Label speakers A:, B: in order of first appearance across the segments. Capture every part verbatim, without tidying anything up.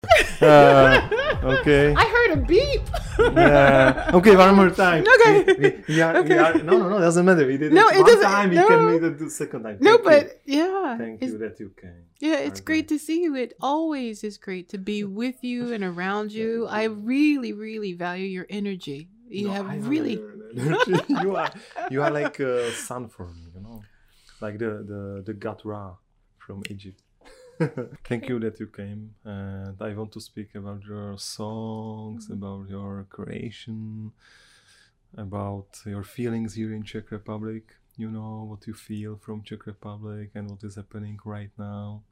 A: Uh, okay.
B: I heard a beep.
A: Yeah. Okay, one more time.
B: Okay.
A: We, we, we are,
B: Okay.
A: we are, no, no, no, doesn't matter. We did
B: No,
A: it
B: it
A: one
B: doesn't-
A: time. We
B: no.
A: can make it the second time.
B: No,
A: Thank
B: but
A: you.
B: yeah.
A: Thank
B: it's-
A: you that you came.
B: Yeah, it's
A: Bye-bye.
B: great to see you. It always is great to be with you and around you. I really, really value your energy. You
A: No, I
B: have
A: don't
B: really.
A: know your energy. you are you are like a sun for me, you know, like the the the god Ra from Egypt. Thank you that you came, and I want to speak about your songs, about your creation, about your feelings here in Czech Republic. You know what you feel from Czech Republic and what is happening right now.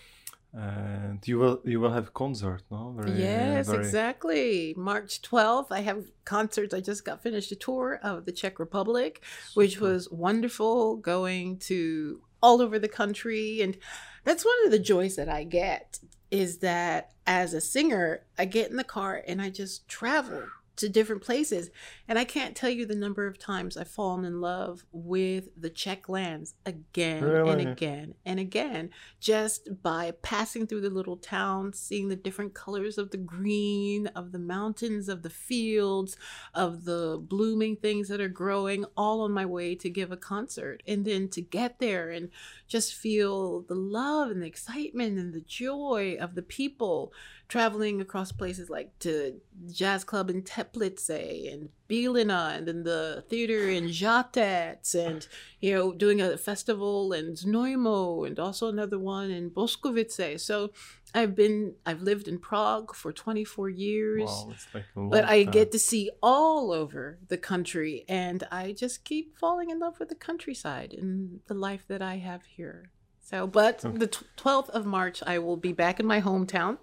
A: And you will you will have concert, no? Very,
B: Yes,
A: very-
B: exactly. March twelfth, I have concerts. I just got finished a tour of the Czech Republic, which
A: Super.
B: was wonderful, going to all over the country. And that's one of the joys that I get, is that as a singer, I get in the car and I just travel to different places. And I can't tell you the number of times I've fallen in love with the Czech lands again and
A: Really?
B: again and again, just by passing through the little towns, seeing the different colors of the green, of the mountains, of the fields, of the blooming things that are growing, all on my way to give a concert. And then to get there and just feel the love and the excitement and the joy of the people traveling across places like to jazz club in Teplice and Bílina, and then the theater in Žatec, and you know, doing a festival in Znojmo, and also another one in Boskovice. So I've been I've lived in Prague for twenty-four years.
A: Wow, it's like a long
B: But I
A: time.
B: get to see all over the country, and I just keep falling in love with the countryside and the life that I have here. So, but
A: Okay.
B: the twelfth of March, I will be back in my hometown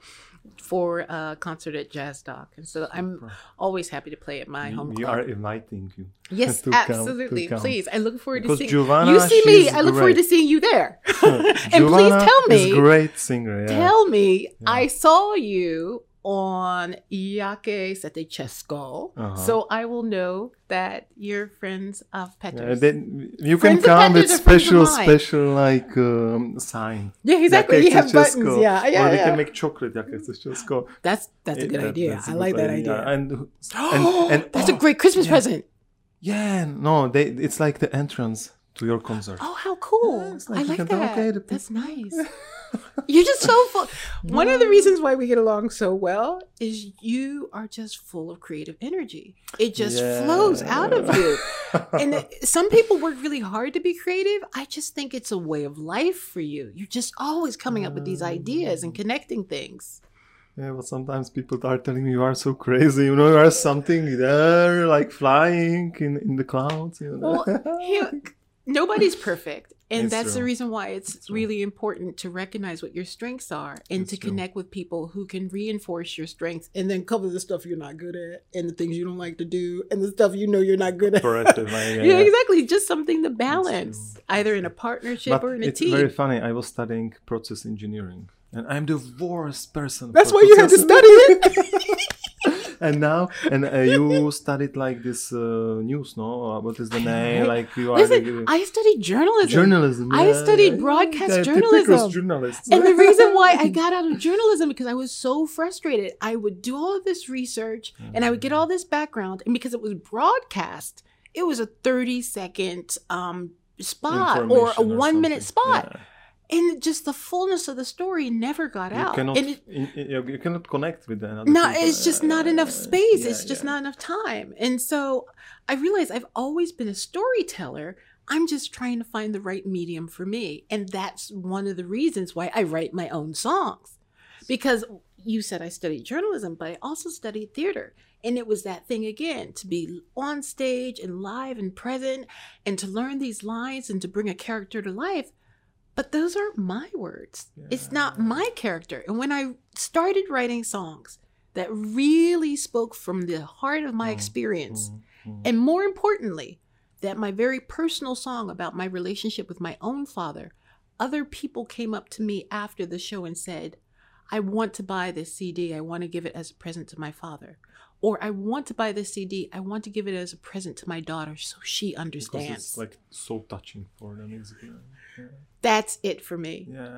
B: for a concert at Jazz Dock. And so I'm
A: Super.
B: alwa's happy to play at my
A: we,
B: home
A: we
B: club.
A: are inviting you.
B: Yes,
A: to come- to
B: absolutely.
A: come.
B: Please. I look forward
A: Because
B: to seeing
A: Giovanna,
B: you. See me.
A: she's
B: I look forward to
A: great.
B: seeing you there. and please
A: Giovanna
B: tell me.
A: is great singer. Yeah.
B: Tell me,
A: Yeah.
B: I saw you on Jaké Setečesko,
A: Uh-huh.
B: so I will know that you're friends of
A: Yeah,
B: Peters.
A: then you
B: Friends
A: can
B: of
A: come with
B: Peters are friends of
A: special,
B: mine.
A: special like um, sign.
B: Yeah, exactly.
A: Jaké
B: You have
A: Setečesko.
B: buttons. Yeah, yeah,
A: Or we
B: yeah.
A: can make chocolate. Jaké Setečesko.
B: That's that's a
A: Eh,
B: good
A: that-
B: idea.
A: that's a
B: I
A: good
B: like that idea.
A: And and, and
B: that's a
A: oh,
B: great Christmas
A: yeah.
B: present.
A: Yeah, no, they it's like the entrance to your concert.
B: Oh, how cool!
A: Yeah, it's like
B: I
A: you
B: like
A: can tell,
B: that.
A: okay, the
B: That's
A: people-
B: nice. You're just so full. One of the reasons why we get along so well is you are just full of creative energy. It just
A: Yeah.
B: flows out of you. And it- some people work really hard to be creative. I just think it's a way of life for you. You're just always coming up with these ideas and connecting things.
A: Yeah, but sometimes people are telling me you are so crazy. You know, you are something there, like flying in, in the clouds. You know?
B: Well, here, nobody's perfect. And
A: It's
B: that's the
A: true.
B: reason why it's
A: It's true.
B: really important to recognize what your strengths are and
A: It's
B: to
A: true.
B: connect with people who can reinforce your strengths and then cover the stuff you're not good at and the things you don't like to do and the stuff you know you're not good at.
A: Corrective, like, yeah,
B: Yeah,
A: yeah.
B: exactly. Just something to balance,
A: true.
B: either in a partnership
A: But
B: or in a
A: it's
B: team.
A: very funny. I was studying process engineering, and I'm the worst person.
B: That's
A: for
B: why you had to
A: process
B: study it.
A: And now, and uh, you studied like this uh, news, no? Uh, What is the name?
B: I-
A: Like you are
B: Listen,
A: the,
B: I studied journalism.
A: journalism.
B: I
A: yeah,
B: studied
A: yeah,
B: broadcast
A: yeah,
B: journalism.
A: typical journalists.
B: And the reason why I got out of journalism because I was so frustrated. I would do all of this research and I would get all this background, and because it was broadcast, it was a thirty second um, spot or a
A: Information or
B: one minute
A: something.
B: spot, and just the fullness of the story never got
A: Yeah. You
B: out.
A: cannot,
B: and it,
A: in- in- you you cannot connect with another.
B: no,
A: people.
B: it's just not enough
A: Uh,
B: space.
A: yeah,
B: it's just
A: yeah.
B: not enough time. And so I realized I've always been a storyteller. I'm just trying to find the right medium for me. And that's one of the reasons why I write my own songs. Because you said I studied journalism, but I also studied theater. And it was that thing again, to be on stage and live and present and to learn these lines and to bring a character to life. But those aren't my words. It's not my character. And when I started writing songs that really spoke from the heart of my experience,
A: Mm, mm.
B: and more importantly, that my very personal song about my relationship with my own father, other people came up to me after the show and said, I want to buy this C D. I want to give it as a present to my father. Or I want to buy this C D. I want to give it as a present to my daughter so she
A: Because
B: understands.
A: it's like so touching for them. It's, yeah.
B: That's it for me.
A: Yeah.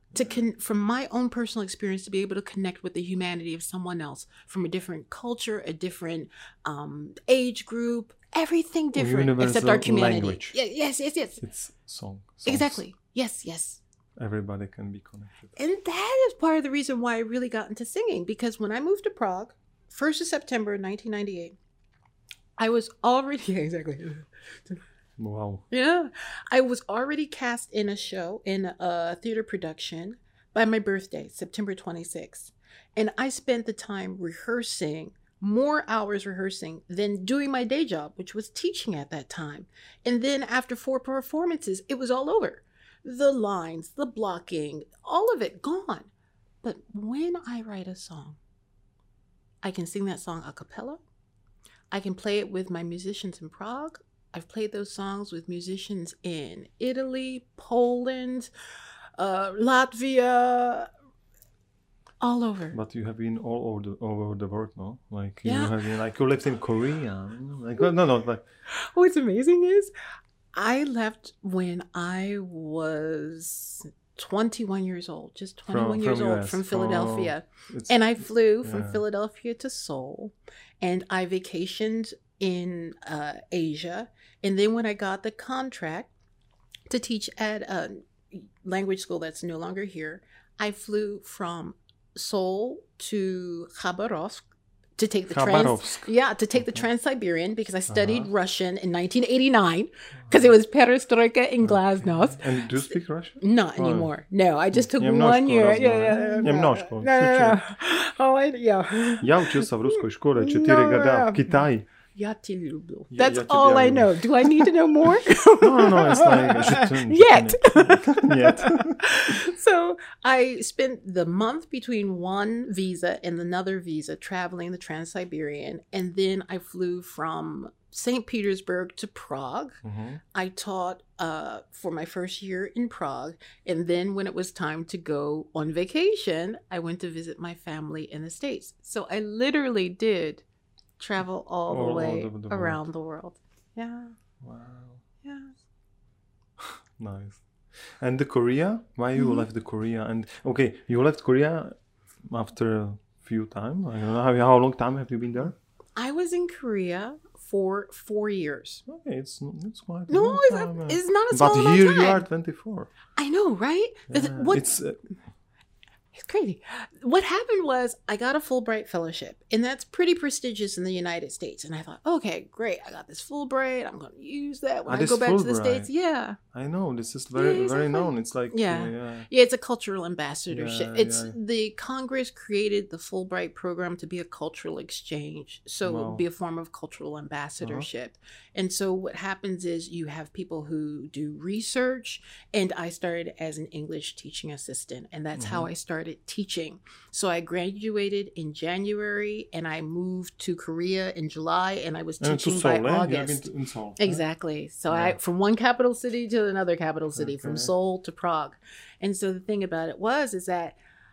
B: to con- from my own personal experience, to be able to connect with the humanity of someone else from a different culture, a different um, age group, everything different except our humanity.
A: Language.
B: Yeah, yes, yes, yes.
A: It's song. Songs.
B: Exactly. Yes, yes.
A: Everybody can be connected.
B: And that is part of the reason why I really got into singing, because when I moved to Prague, first of September nineteen ninety-eight, I was already, yeah, exactly.
A: Wow.
B: Yeah. I was already cast in a show, in a theater production by my birthday, September twenty-sixth. And I spent the time rehearsing, more hours rehearsing than doing my day job, which was teaching at that time. And then after four performances, it was all over. The lines, the blocking, all of it gone. But when I write a song, I can sing that song a cappella. I can play it with my musicians in Prague. I've played those songs with musicians in Italy, Poland, uh, Latvia, all over.
A: But you have been all over the, all over the world, no? Like you
B: Yeah.
A: have been, like you lived in Korea. Like no, no, like
B: What's amazing is I left when I was twenty-one years old, just twenty-one
A: From-
B: years
A: from
B: old
A: U S.
B: from Philadelphia.
A: it's
B: And I flew from
A: yeah.
B: Philadelphia to Seoul, and I vacationed in uh, Asia. And then when I got the contract to teach at a language school that's no longer here, I flew from Seoul to Khabarovsk to take the trans
A: Khabarovsk.
B: yeah to take the
A: Okay.
B: Trans-Siberian, because I studied
A: Uh-huh.
B: Russian in nineteen eighty-nine, because it was perestroika in Glasnost.
A: And do you speak Russian?
B: Not
A: Oh.
B: anymore. No, I just took
A: Немножко
B: one year. Yeah,
A: разговариваю.
B: yeah, yeah.
A: Немножко,
B: No, no, no, no. Oh, I, yeah.
A: Я учился в русской школе четыре
B: No,
A: года
B: no.
A: в Китае.
B: Я тебя люблю.
A: Я-
B: That's
A: я тебя
B: all I
A: люблю.
B: know. Do I need to know more?
A: No, no, no, it's like je te-
B: Yet.
A: Yet.
B: So I spent the month between one visa and another visa traveling the Trans-Siberian, and then I flew from Saint Petersburg to Prague.
A: Mhm.
B: I taught uh, for my first year in Prague, and then when it was time to go on vacation, I went to visit my family in the States. So I literally did travel all the
A: All
B: way
A: over the world.
B: around the world. Yeah,
A: Wow.
B: yeah.
A: Nice. And the Korea? Why you
B: Mhm.
A: left the Korea? And okay, you left Korea after a few time. I don't know how, how long time have you been there?
B: I was in Korea for four years.
A: Okay, it's it's quite. a
B: No,
A: long
B: it's,
A: time, uh,
B: it's not a
A: But
B: small amount
A: here
B: of time.
A: you are twenty-four.
B: I know, right? The-
A: Yeah,
B: what
A: It's uh,
B: It's crazy. What happened was I got a Fulbright fellowship, and that's pretty prestigious in the United States. And I thought, okay, great. I got this Fulbright. I'm going to use that when
A: Ah,
B: I
A: this
B: go back to the
A: Fulbright.
B: States. Yeah.
A: I know this is very
B: Yeah,
A: very
B: exactly.
A: known. It's like
B: Yeah.
A: uh, yeah.
B: Yeah, it's a cultural ambassadorship.
A: Yeah,
B: it's
A: yeah.
B: the Congress created the Fulbright program to be a cultural exchange. So
A: Wow.
B: be a form of cultural ambassadorship. And so what happens is you have people who do research, and I started as an English teaching assistant, and that's how
A: Mm-hmm.
B: I started teaching. So I graduated in January, and I moved to Korea in July, and I was
A: And to
B: teaching
A: Seoul,
B: by
A: eh? You have been
B: August.
A: to- in Seoul. eh?
B: Exactly. So
A: Yeah.
B: I from one capital city to another capital city, from
A: Okay.
B: Seoul to Prague. And so the thing about it was is that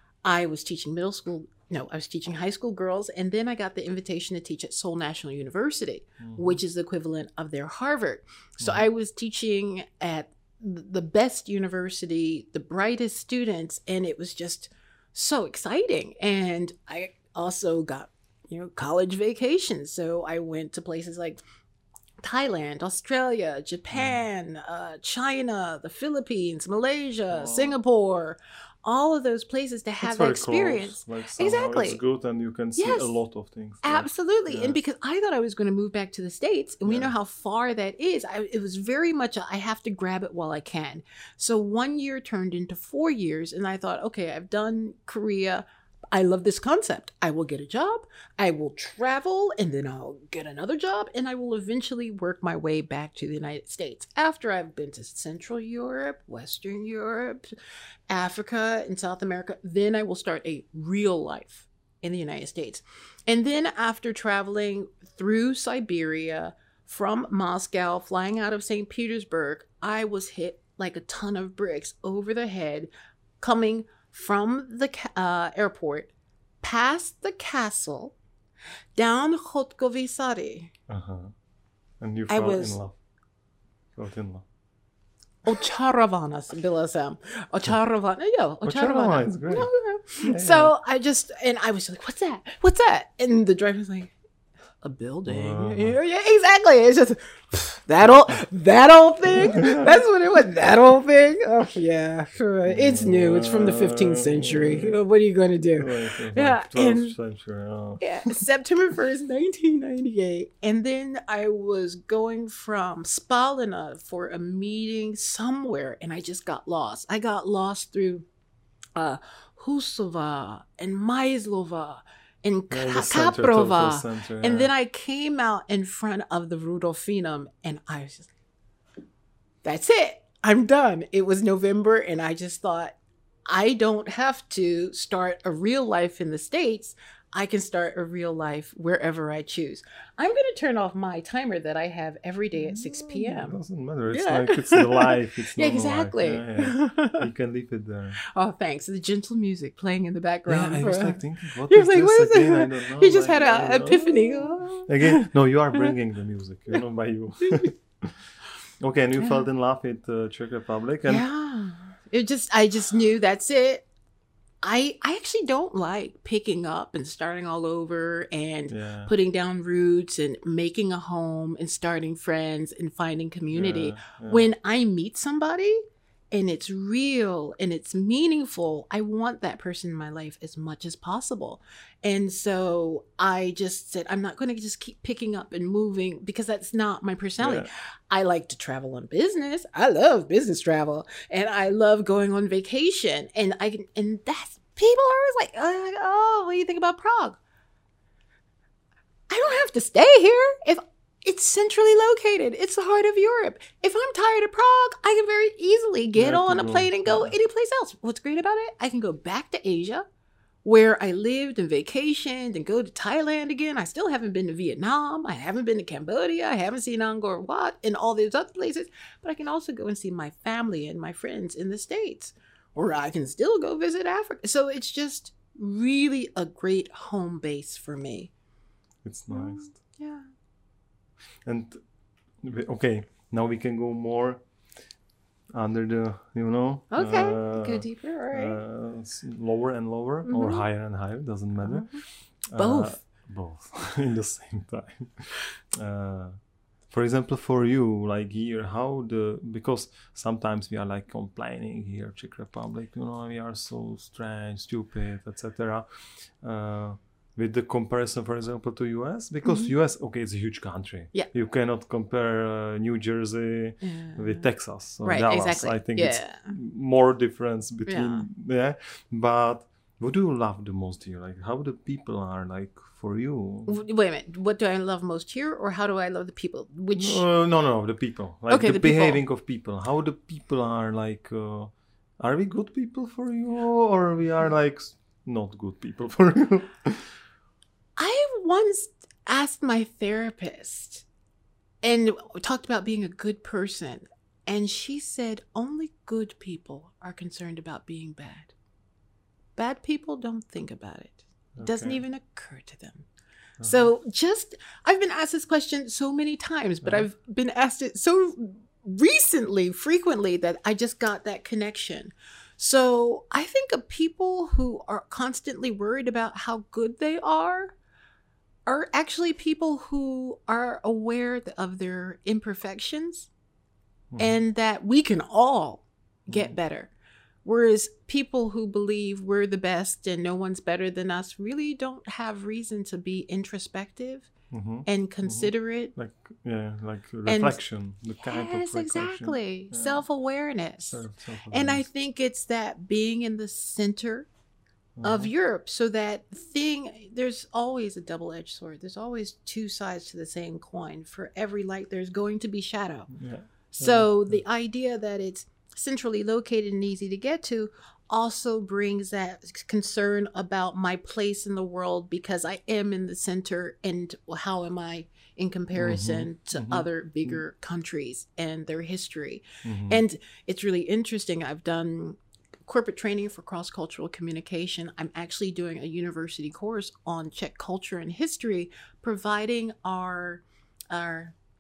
B: I was teaching middle school, no, I was teaching high school girls, and then I got the invitation to teach at Seoul National University,
A: Mhm.
B: which is the equivalent of their Harvard. So
A: Mhm.
B: I was teaching at the best university, the brightest students, and it was just so exciting. And I also got, you know, college vacations. So I went to places like Thailand, Australia, Japan, uh, China, the Philippines, Malaysia,
A: Wow.
B: Singapore, all of those places to have
A: It's
B: that
A: very
B: experience.
A: Close. Like somehow
B: Exactly.
A: It's good, and you can see
B: Yes.
A: a lot of things. like-
B: Absolutely.
A: yeah.
B: And because I thought I was going to move back to the States, and we
A: Yeah.
B: know how far that is, I, it was very much a, I have to grab it while I can. So one year turned into four years, and I thought, okay, I've done Korea. I love this concept. I will get a job, I will travel, and then I'll get another job, and I will eventually work my way back to the United States after I've been to Central Europe, Western Europe, Africa, and South America. Then I will start a real life in the United States. And then after traveling through Siberia, from Moscow, flying out of Saint Petersburg, I was hit like a ton of bricks over the head coming from the ca- uh, airport, past the castle, down Khotkovy Sari.
A: Uh-huh. And you
B: I
A: fell
B: was-
A: in love. Felt in love.
B: Očarovaná byla jsem. Očarovaná, jo,
A: Očarovaná
B: očarovaná.
A: is great.
B: No, no.
A: Yeah,
B: So I just, and I was like, what's that? What's that? And the driver was like, a building.
A: Wow.
B: Yeah, yeah, exactly. It's just that old, that old thing. That's what it was. That old thing. Oh yeah, it's new. It's from the fifteenth century. What are you going to do?
A: Like,
B: Yeah,
A: twelfth
B: and-
A: century. Oh.
B: Yeah, September first, nineteen ninety-eight. And then I was going from Spalina for a meeting somewhere, and I just got lost. I got lost through uh, Husova and Maislova and
A: Yeah,
B: Ka-
A: the center,
B: Kaprova.
A: total center,
B: And
A: yeah.
B: then I came out in front of the Rudolfinum, and I was just, that's it. I'm done. It was November, and I just thought, I don't have to start a real life in the States. I can start a real life wherever I choose. I'm going to turn off my timer that I have every day at six
A: It
B: p.m.
A: doesn't matter. It's
B: Yeah.
A: like it's the life. It's
B: Yeah,
A: normal life.
B: exactly.
A: Yeah, yeah. You can leave it there.
B: Oh, thanks. The gentle music playing in the
A: Yeah,
B: background.
A: I
B: for-
A: was like thinking, what
B: He
A: is
B: was like,
A: this
B: what is
A: again?
B: it?
A: I don't know.
B: He just
A: like,
B: had
A: I
B: an
A: don't know.
B: epiphany. Oh.
A: Again, no, you are bringing the music, you know, by you. Okay, and you
B: Yeah.
A: fell in love with uh, Czech Republic, and
B: Yeah. It just, I just knew that's it. I, I actually don't like picking up and starting all over and
A: yeah,
B: putting down roots and making a home and starting friends and finding community.
A: yeah, yeah.
B: When I meet somebody and it's real and it's meaningful, I want that person in my life as much as possible. And so I just said, I'm not going to just keep picking up and moving because that's not my personality.
A: Yeah.
B: I like to travel on business. I love business travel, and I love going on vacation. And I can, and that's people are always like, oh, oh, what do you think about Prague? I don't have to stay here if it's centrally located. It's the heart of Europe. If I'm tired of Prague, I can very easily get
A: Yeah,
B: on
A: to
B: a
A: go.
B: plane and go
A: Yeah.
B: anyplace else. What's great about it? I can go back to Asia, where I lived and vacationed, and go to Thailand again. I still haven't been to Vietnam. I haven't been to Cambodia. I haven't seen Angkor Wat and all these other places. But I can also go and see my family and my friends in the States. Or I can still go visit Africa. So it's just really a great home base for me.
A: It's nice.
B: Yeah.
A: And we- okay, now we can go more under the, you know,
B: Okay.
A: uh,
B: Go deeper. All right.
A: uh, s- lower and lower, or
B: Mhm.
A: higher and higher, doesn't matter.
B: Mhm. Both.
A: Uh, both in the same time. Uh, for example, for you, like here, how the, because sometimes we are like complaining here, Czech Republic, you know, we are so strange, stupid, et cetera. Uh, with the comparison, for example, to U S, because
B: Mhm.
A: U S, okay, it's a huge country.
B: Yeah.
A: You cannot compare uh, New Jersey
B: Yeah.
A: with Texas or
B: Right,
A: Dallas.
B: exactly.
A: I think
B: Yeah.
A: it's more difference between, yeah. But what do you love the most here? Like how the people are like for you?
B: W- Wait a minute. What do I love most here, or how do I love the people? Which
A: Uh, no, no, the people. Like
B: Okay,
A: the,
B: the people.
A: behaving of people. How the people are like. Uh, are we good people for you, or we are like s- not good people for you?
B: I once asked my therapist and talked about being a good person, and she said only good people are concerned about being bad. Bad people don't think about it. It doesn't
A: Okay.
B: even occur to them.
A: Uh-huh.
B: So just, I've been asked this question so many times, but
A: Uh-huh.
B: I've been asked it so recently, frequently, that I just got that connection. So I think of people who are constantly worried about how good they are are actually people who are aware of their imperfections
A: Mhm.
B: and that we can all get
A: Mhm.
B: better. Whereas people who believe we're the best and no one's better than us really don't have reason to be introspective
A: Mhm.
B: and considerate.
A: Like yeah, like reflection, the kind of
B: Yes,
A: reflection.
B: exactly.
A: Yeah.
B: Self-awareness.
A: Self-
B: And I
A: self-awareness.
B: think it's that being in the center of
A: Mhm.
B: Europe, so that thing, there's always a double-edged sword. There's always two sides to the same coin. For every light, there's going to be shadow.
A: Yeah.
B: So the idea that it's centrally located and easy to get to also brings that concern about my place in the world, because I am in the center, and how am I in comparison to
A: mhm.
B: other bigger countries and their history.
A: Mhm.
B: And it's really interesting. I've done corporate training for cross-cultural communication. I'm actually doing a university course on Czech culture and history, providing our our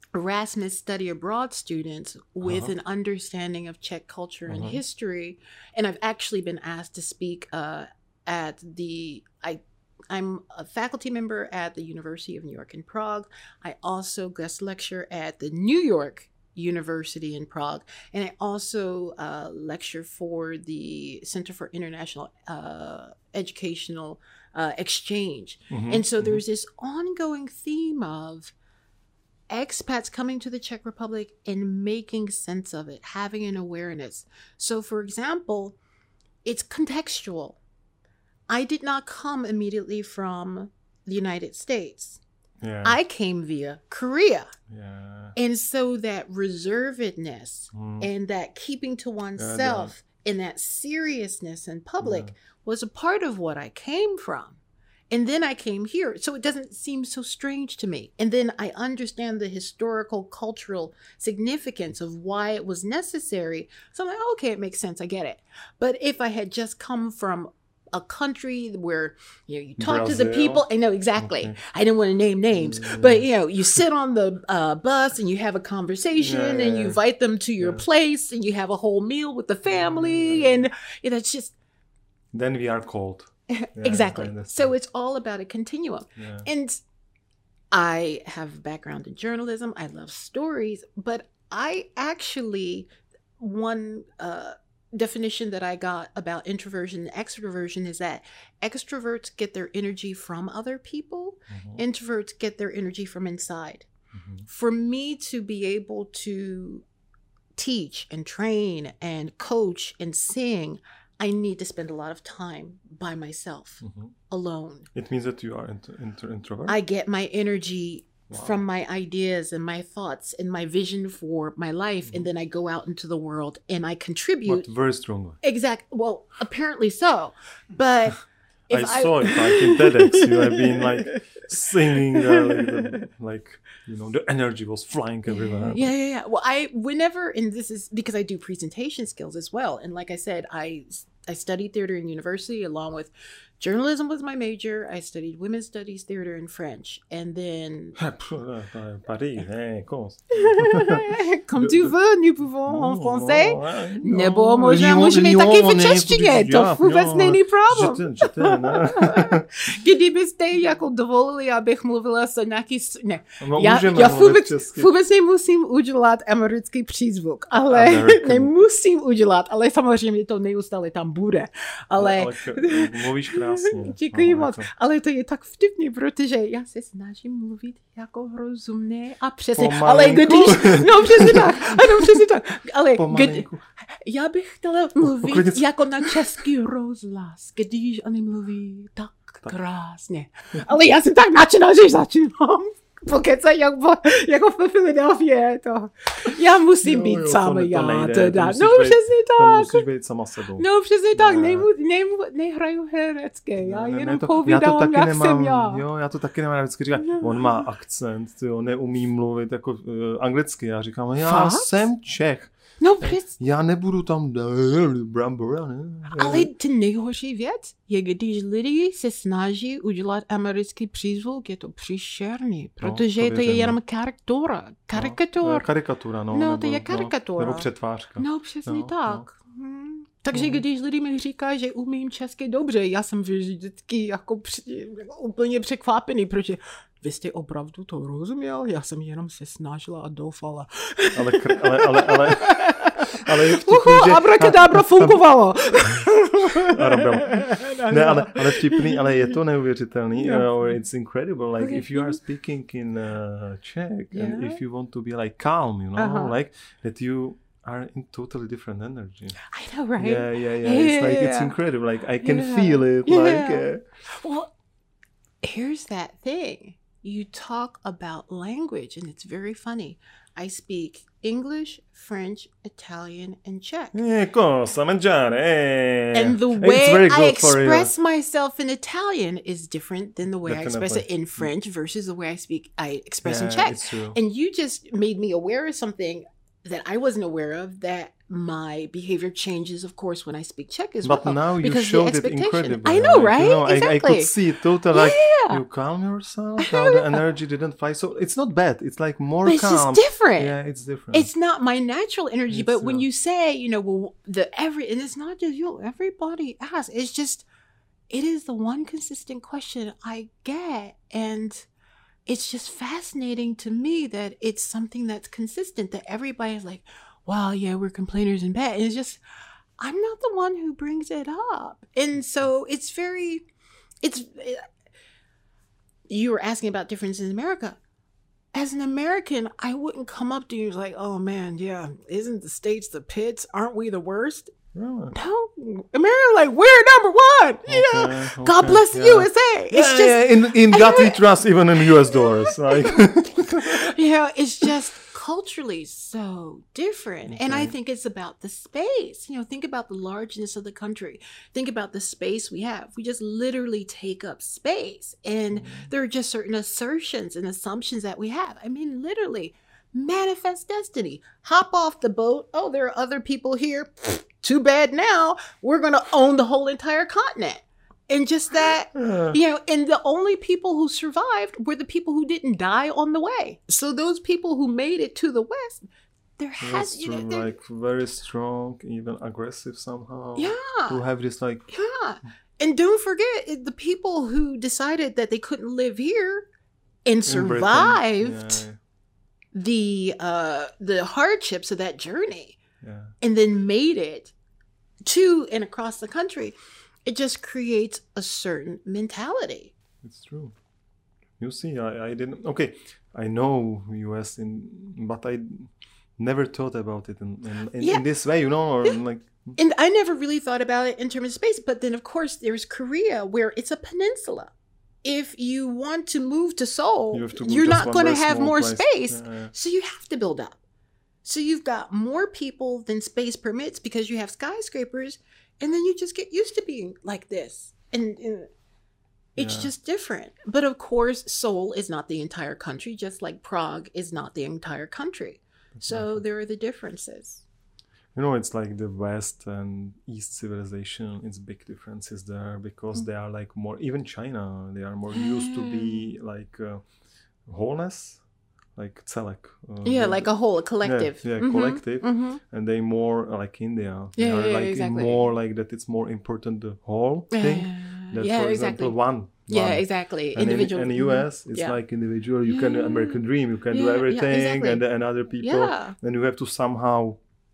B: Erasmus study abroad students with
A: Uh-huh.
B: an understanding of Czech culture and
A: Uh-huh.
B: history. And I've actually been asked to speak uh, at the, I, I'm a faculty member at the University of New York in Prague. I also guest lecture at the New York University in Prague. And I also uh, lecture for the Center for International uh, Educational uh, Exchange.
A: Mhm,
B: And so
A: mhm.
B: there's this ongoing theme of expats coming to the Czech Republic and making sense of it, having an awareness. So, for example, it's contextual. I did not come immediately from the United States.
A: Yeah.
B: I came via Korea.
A: Yeah.
B: And so that reservedness
A: Mm.
B: and that keeping to oneself and that seriousness in public
A: Yeah.
B: was a part of what I came from. And then I came here. So it doesn't seem so strange to me. And then I understand the historical, cultural significance of why it was necessary. So I'm like, okay, it makes sense. I get it. But if I had just come from a country where, you know, you talk to the
A: Brazil.
B: people. I know exactly.
A: Okay.
B: I didn't want to name names,
A: Mm.
B: but you know, you sit on the uh, bus and you have a conversation
A: Yeah, yeah,
B: and you
A: yeah.
B: invite them to your
A: Yeah.
B: place and you have a whole meal with the family.
A: Yeah.
B: And you know, it's just
A: Then we are cold. Yeah, I
B: exactly.
A: understand.
B: So it's all about a continuum.
A: Yeah.
B: And I have a background in journalism. I love stories, but I actually, one uh, definition that I got about introversion and extroversion is that extroverts get their energy from other people,
A: Mhm,
B: introverts get their energy from inside.
A: mhm.
B: For me to be able to teach and train and coach and sing, I need to spend a lot of time by myself,
A: Mhm.
B: alone.
A: It means that you are int- inter- introvert.
B: I get my energy
A: Wow.
B: from my ideas and my thoughts and my vision for my life.
A: Mm-hmm.
B: And then I go out into the world and I contribute.
A: But very strongly.
B: Exact. Well, apparently so. But if
A: I saw it like in TEDx. You have been like singing, uh, like, the, like you know, the energy was flying everywhere.
B: Yeah, yeah, yeah. Well, I whenever, and this is because I do presentation skills as well. And like I said, I I studied theater in university along with journalism was my major. I studied women's studies, theater, and French. And then
A: Paris, eh, comment?
B: comme tu veux, nous pouvons en français.
A: No,
B: Nebo možná můžeme taky v češtině, to vůbec není problém.
A: Že ten, ne?
B: Kdybyste jako dovolili, abych mluvila se nějaký... s- Ne,
A: No,
B: já,
A: můžeme
B: já
A: mluvit
B: vůbec,
A: česky.
B: vůbec nemusím udělat americký přízvuk, ale
A: American.
B: nemusím udělat, ale samozřejmě to neustále tam bude. Ale,
A: ale k- mluvíš krásně.
B: děkuji
A: No,
B: moc.
A: jako-
B: Ale to je tak vtipný, protože já se snažím mluvit jako rozumně a přesně. Ale
A: Pomalinku.
B: když... No přesně tak, ano přesně tak. Ale kdy,
A: Pomalinku.
B: já bych chtěla mluvit
A: uklidnit se.
B: jako na český rozhlas, když oni mluví tak, tak krásně. Ale já jsem tak nadšená, že začínám pokecat jako, jako v Filadelfii. To. Já musím
A: Jo,
B: být
A: jo,
B: sama
A: to ne- to
B: já
A: nejde,
B: teda.
A: to musíš
B: No
A: být-
B: přesně
A: To
B: tak.
A: musíš být sama sebou.
B: No přesně tak,
A: Ne.
B: nejmu, nejmu, nehraju herecké, já
A: Ne, ne,
B: jenom
A: to,
B: povídám,
A: já to taky
B: jak
A: nemám,
B: jsem já.
A: Jo, já to taky nemám, já vždycky říkám, on má akcent, jo, neumí mluvit jako uh, anglicky, já říkám, já
B: Fakt?
A: jsem Čech,
B: No přesně.
A: já nebudu tam brambora, ne?
B: Ale ty nejhorší věc je, když lidi se snaží udělat americký přízvuk, je to příšerný, protože
A: to
B: to, to je
A: věřím,
B: jenom karikatura. Karikatur.
A: No, karikatura, no.
B: No,
A: nebo,
B: to je karikatura.
A: No, nebo přetvářka.
B: No, přesně
A: Jo,
B: tak. Hmm. Takže
A: No.
B: když lidi mi říkají, že umím česky dobře, já jsem vždycky jako, při, jako úplně překvapený, protože vy jste opravdu to rozuměl? Já jsem jenom se snažila a doufala.
A: Ale, kr- ale, ale, ale, ale je vtipný,
B: Uhu,
A: že...
B: abrakadabra fungovalo.
A: Arabel. Ne, ale, ale vtipný, ale je to neuvěřitelný.
B: Yeah.
A: Uh, or it's incredible. Like
B: Okay.
A: if you are speaking in uh, Czech and
B: Yeah.
A: if you want to be like calm, you know,
B: Uh-huh.
A: like that you are in totally different energy.
B: I know, right?
A: Yeah, yeah, yeah. It's like it's
B: Yeah.
A: incredible. Like I can
B: Yeah.
A: feel it.
B: Yeah.
A: Like uh,
B: Well, here's that thing. You talk about language, and it's very funny. I speak English, French, Italian, and Czech.
A: eh, cosa mangiare? Eh.
B: And the
A: It's
B: way
A: very
B: I
A: good for you.
B: express myself in Italian is different than the way I express it
A: Definitely.
B: in French versus the way I speak I express in
A: Yeah,
B: Czech.
A: it's true.
B: And you just made me aware of something that I wasn't aware of, that my behavior changes, of course, when I speak Czech as
A: But
B: well.
A: now you
B: because the
A: showed it
B: expectation-
A: incredibly.
B: I know,
A: like,
B: right?
A: You know, I, I
B: Exactly.
A: could see it totally. Like
B: Yeah.
A: you calm yourself. How the energy didn't fly. So it's not bad. It's like more
B: But it's
A: calm.
B: just different.
A: Yeah, it's different.
B: It's not my natural energy,
A: It's,
B: but when
A: uh,
B: you say, you know, well, the every, and it's not just you, everybody asks. It's just, it is the one consistent question I get, and it's just fascinating to me that it's something that's consistent. That everybody's like, "Wow, yeah, we're complainers in bed." And it's just, I'm not the one who brings it up, and so it's very, it's. You were asking about differences in America. As an American, I wouldn't come up to you like, "Oh man, yeah, isn't the States the pits? Aren't we the worst?"
A: Really?
B: No, America, like, we're number one. You know,
A: Okay,
B: God
A: okay,
B: bless the
A: yeah.
B: U S A. It's
A: yeah,
B: just,
A: yeah, in in God we trust, even in U S dollars. Like
B: you know, it's just culturally so different. And I
A: Okay.
B: think it's about the space. You know, think about the largeness of the country. Think about the space we have. We just literally take up space. And there are just certain assertions and assumptions that we have. I mean, literally, manifest destiny. Hop off the boat. Oh, there are other people here. Too bad now. We're going to own the whole entire continent. And just that,
A: Yeah.
B: you know, and the only people who survived were the people who didn't die on the way. So those people who made it to the West, there has,
A: That's
B: you know,
A: true,
B: there-
A: like very strong, even aggressive somehow. To
B: yeah,
A: have this like
B: yeah. And don't forget it- the people who decided that they couldn't live here and
A: in Britain.
B: survived
A: Yeah,
B: the uh the hardships of that journey
A: yeah.
B: and then made it to and across the country. It just creates a certain mentality.
A: It's true. You see, I, I didn't. Okay, I know U S in, but I never thought about it in in, in,
B: Yeah.
A: in this way. You know, or like
B: And I never really thought about it in terms of space. But then, of course, there's Korea, where it's a peninsula. If you want to move to Seoul,
A: you have to.
B: you're
A: just
B: not
A: one
B: going to
A: very
B: have
A: small
B: more
A: place.
B: space.
A: Yeah, yeah.
B: So you have to build up. So you've got more people than space permits because you have skyscrapers. And then you just get used to being like this. And, and it's
A: Yeah.
B: just different. But of course, Seoul is not the entire country, just like Prague is not the entire country. So
A: Exactly.
B: there are the differences.
A: You know, it's like the West and East civilization. It's big differences there because
B: Mm.
A: they are like more. Even China, they are more used to be like uh, wholeness, like celek. Uh,
B: Yeah,
A: the-
B: like a whole, a collective.
A: yeah,
B: Mhm,
A: collective.
B: mhm.
A: and they more uh, like India. They
B: Yeah,
A: are
B: yeah,
A: like
B: exactly.
A: more like that. It's more important the whole thing.
B: Uh,
A: That,
B: yeah,
A: for
B: exactly.
A: example, one.
B: Yeah,
A: one.
B: exactly.
A: And
B: Individual.
A: in, in
B: mhm.
A: U S, it's
B: Yeah.
A: like individual. You can do
B: Yeah.
A: American dream. You can
B: Yeah,
A: do
B: yeah,
A: everything,
B: exactly.
A: and and other people.
B: Yeah.
A: And you have to somehow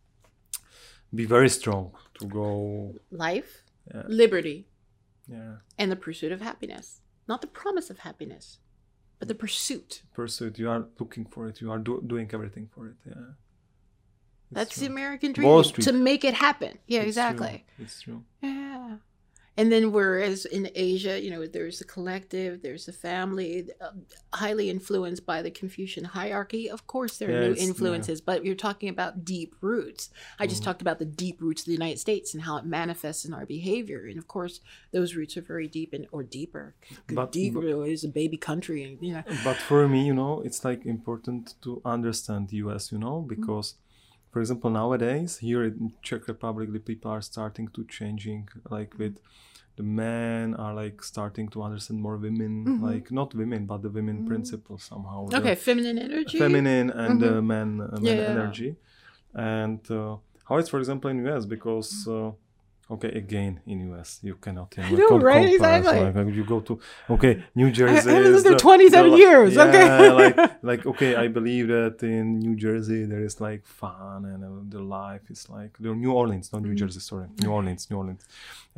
A: be very strong to go.
B: Life,
A: Yeah.
B: liberty,
A: Yeah,
B: and the pursuit of happiness. Not the promise of happiness, but the pursuit.
A: pursuit. You are looking for it. You are do- doing everything for it. Yeah. It's
B: That's
A: true.
B: the American
A: Wall
B: dream.
A: Street.
B: To make it happen. Yeah,
A: It's
B: exactly.
A: true. It's true.
B: Yeah. And then whereas in Asia, you know, there's the collective, there's the family, uh, highly influenced by the Confucian hierarchy. Of course, there are
A: Yeah,
B: new
A: it's- yeah.
B: influences, but you're talking about deep roots. I just
A: Mhm.
B: talked about the deep roots of the United States and how it manifests in our behavior. And of course, those roots are very deep and or deeper.
A: But-
B: deeper is a baby country, and you know.
A: But for me, you know, it's like important to understand the U S, you know, because, for example, nowadays here in Czech Republic, the people are starting to changing, like with the men are like starting to understand more women,
B: Mhm.
A: like not women, but the women
B: Mhm.
A: principle somehow. the
B: Okay, feminine energy.
A: feminine and the
B: Mhm.
A: men, uh, men
B: Yeah.
A: energy, and uh, how it's, for example, in U S because. Uh, Okay, again in U S you cannot. You
B: I know,
A: com-
B: right?
A: compare.
B: Exactly.
A: So, like, you go to okay New
B: I,
A: Jersey.
B: I lived
A: is
B: there
A: the-
B: twenty-seven
A: the-
B: years.
A: yeah,
B: Okay.
A: like like okay, I believe that in New Jersey there is like fun and uh, the life is like the New Orleans, not New
B: Mhm.
A: Jersey. Sorry, New Orleans, New Orleans.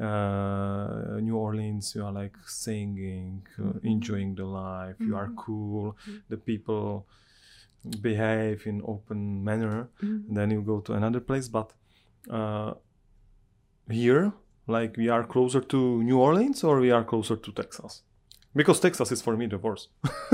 A: Uh, New Orleans, you are like singing, uh,
B: Mhm.
A: enjoying the life. You are
B: Mhm.
A: cool.
B: Mhm.
A: The people behave in open manner.
B: Mhm.
A: Then you go to another place, but uh, here, like we are closer to New Orleans or we are closer to Texas, because Texas is for me the worst.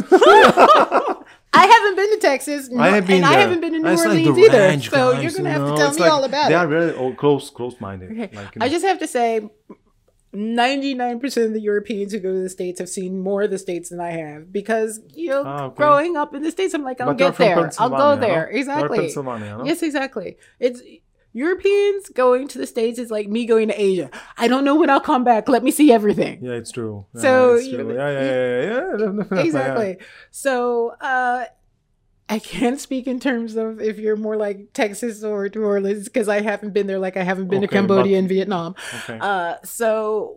B: I haven't been to Texas,
A: I have been
B: and
A: there.
B: I haven't been to New
A: It's like
B: Orleans
A: the
B: either.
A: ranch
B: So
A: guys,
B: you're gonna
A: you
B: have to
A: know,
B: tell
A: it's
B: me
A: like
B: all about
A: they
B: it.
A: are very oh, close, close-minded.
B: Okay.
A: Like, you
B: I
A: know.
B: just have to say, ninety-nine percent of the Europeans who go to the States have seen more of the States than I have because, you know,
A: Ah, okay.
B: growing up in the States, I'm like, I'll
A: But you're
B: get
A: from
B: there. I'll go
A: Pennsylvania,
B: there.
A: no? You're
B: Exactly.
A: Pennsylvania, no?
B: Yes, exactly. It's Europeans going to the States is like me going to Asia. I don't know when I'll come back. Let me see everything.
A: Yeah, it's true. Yeah,
B: So,
A: it's
B: you
A: true.
B: know,
A: yeah, yeah, yeah, yeah, yeah, definitely.
B: Exactly. So uh, I can't speak in terms of if you're more like Texas or New Orleans because I haven't been there like I haven't been
A: Okay,
B: to Cambodia
A: but-
B: and Vietnam.
A: Okay.
B: Uh, so,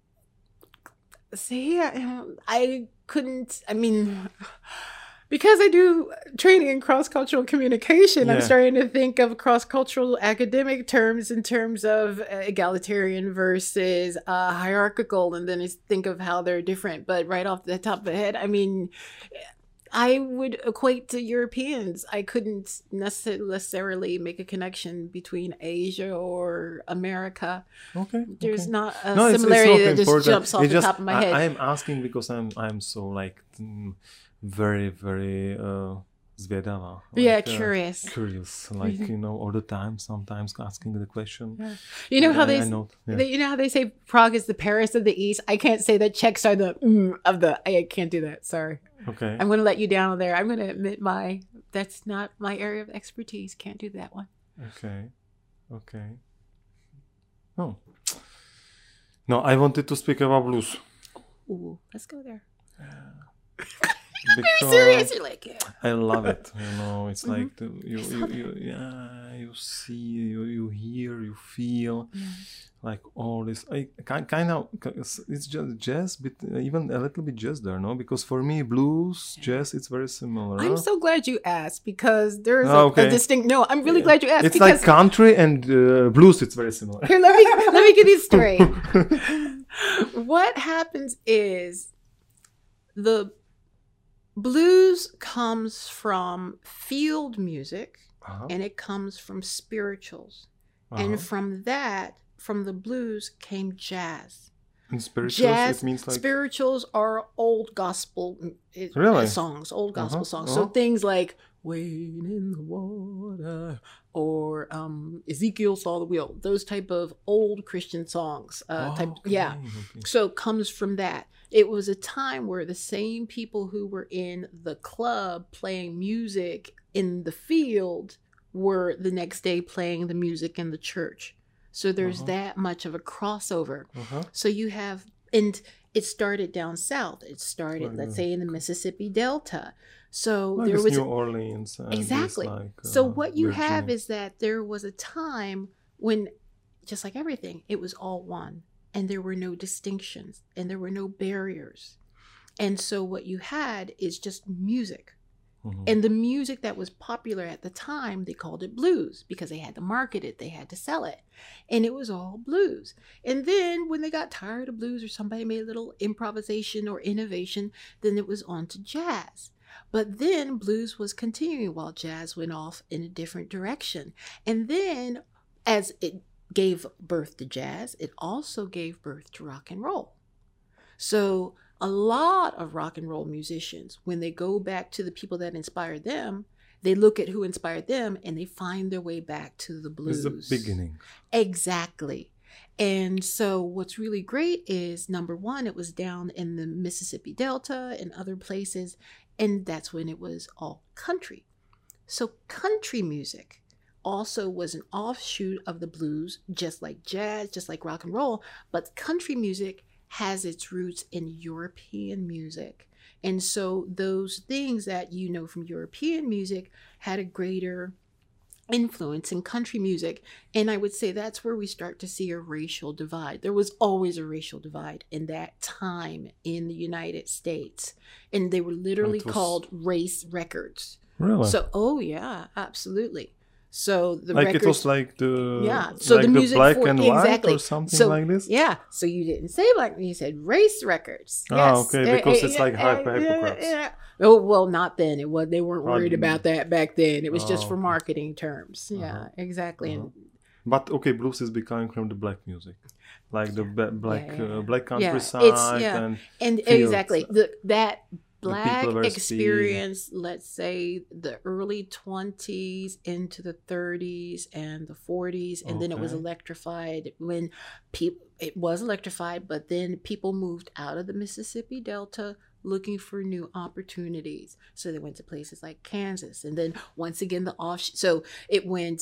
B: see, I, I couldn't, I mean, because I do training in cross-cultural communication, I'm
A: Yeah.
B: starting to think of cross-cultural academic terms in terms of uh, egalitarian versus uh, hierarchical, and then I think of how they're different. But right off the top of the head, I mean, I would equate to Europeans. I couldn't necess- necessarily make a connection between Asia or America.
A: Okay.
B: There's
A: okay.
B: not a
A: No, it's, it's
B: similarity
A: not
B: that just
A: important.
B: jumps off
A: It's
B: the
A: just,
B: top of my
A: I,
B: head.
A: I'm asking because I'm I'm so like mm, very very uh, zvědavá.
B: yeah,
A: like, uh,
B: curious.
A: Curious, like you know, all the time. Sometimes asking the question.
B: Yeah. You know how
A: I-
B: they,
A: I
B: s-
A: know, yeah.
B: they, you know how they say Prague is the Paris of the East. I can't say that Czechs are the mm, of the. I can't do that. Sorry,
A: Okay.
B: I'm going to let you down there. I'm going to admit my that's not my area of expertise. Can't do that one.
A: Okay. Okay. Oh. No, I wanted to speak about blues.
B: Ooh, let's go there.
A: Because
B: Very serious. You're like, yeah.
A: I love it. You know, it's
B: Mhm.
A: like the, you, you, you, yeah, you see, you, you hear, you feel, like all this. I kind kind of it's just jazz, but even a little bit jazz there, no? Because for me, blues, jazz, it's very similar.
B: I'm so glad you asked because there's
A: Oh,
B: a,
A: okay.
B: a distinct. No, I'm really glad you asked
A: It's
B: because
A: like country and uh, blues. It's very similar.
B: here, let me let me get this straight. What happens is the blues comes from field music
A: Uh-huh.
B: and it comes from spirituals.
A: Uh-huh.
B: And from that, from the blues came jazz.
A: And spirituals,
B: Jazz,
A: it means like
B: spirituals are old gospel mm, it-
A: Really?
B: songs, old gospel
A: Uh-huh,
B: songs.
A: uh-huh.
B: So things like "Wade in the Water" or um, "Ezekiel Saw the Wheel," those type of old Christian songs. Uh,
A: Oh,
B: type,
A: okay,
B: yeah.
A: okay.
B: So it comes from that. It was a time where the same people who were in the club playing music in the field were the next day playing the music in the church. So there's
A: Uh-huh.
B: that much of a crossover.
A: Uh-huh.
B: So you have, and it started down south. It started,
A: Oh,
B: let's
A: yeah.
B: say, in the Mississippi Delta. So
A: Like
B: there
A: this
B: was
A: New Orleans. And
B: exactly.
A: This, like,
B: so
A: uh,
B: what you have
A: Virginia.
B: is that there was a time when, just like everything, it was all one, and there were no distinctions, and there were no barriers, and so what you had is just music.
A: Mhm.
B: And the music that was popular at the time, they called it blues because they had to market it, they had to sell it. And it was all blues. And then when they got tired of blues or somebody made a little improvisation or innovation, then it was on to jazz. But then blues was continuing while jazz went off in a different direction. And then as it gave birth to jazz, it also gave birth to rock and roll. So a lot of rock and roll musicians, when they go back to the people that inspired them, they look at who inspired them and they find their way back to the blues.
A: It's the beginning.
B: Exactly. And so what's really great is, number one, it was down in the Mississippi Delta and other places, and that's when it was all country. So country music also was an offshoot of the blues, just like jazz, just like rock and roll, but country music has its roots in European music. And so those things that you know from European music had a greater influence in country music. And I would say that's where we start to see a racial divide. There was always a racial divide in that time in the United States. And they were literally
A: It was-
B: called race records.
A: Really?
B: So, oh yeah, absolutely. So the
A: like
B: records,
A: it was like the
B: yeah. So
A: like
B: the music
A: black
B: for
A: and white
B: exactly
A: or something
B: so,
A: like this.
B: Yeah. So you didn't say black, you said race records.
A: Ah,
B: Yes.
A: okay, because
B: Eh,
A: it's
B: eh,
A: like
B: eh,
A: hyper-
B: eh,
A: hypocrites.
B: eh, Oh well, not then. It was they weren't worried
A: Pardon.
B: about that back then. It was just
A: Oh,
B: for
A: okay.
B: marketing terms. Yeah,
A: Uh-huh.
B: exactly.
A: Uh-huh.
B: And
A: But okay, blues is becoming from the black music, like the ba- black
B: Yeah, yeah,
A: uh, black
B: yeah.
A: countryside
B: It's- yeah.
A: and
B: and
A: fields.
B: exactly the that
A: people
B: black
A: were speed.
B: experience, let's say the early twenties into the thirties and the forties, and then it was
A: Okay.
B: electrified when people it was electrified, but then people moved out of the Mississippi Delta looking for new opportunities. So they went to places like Kansas, and then once again the off so it went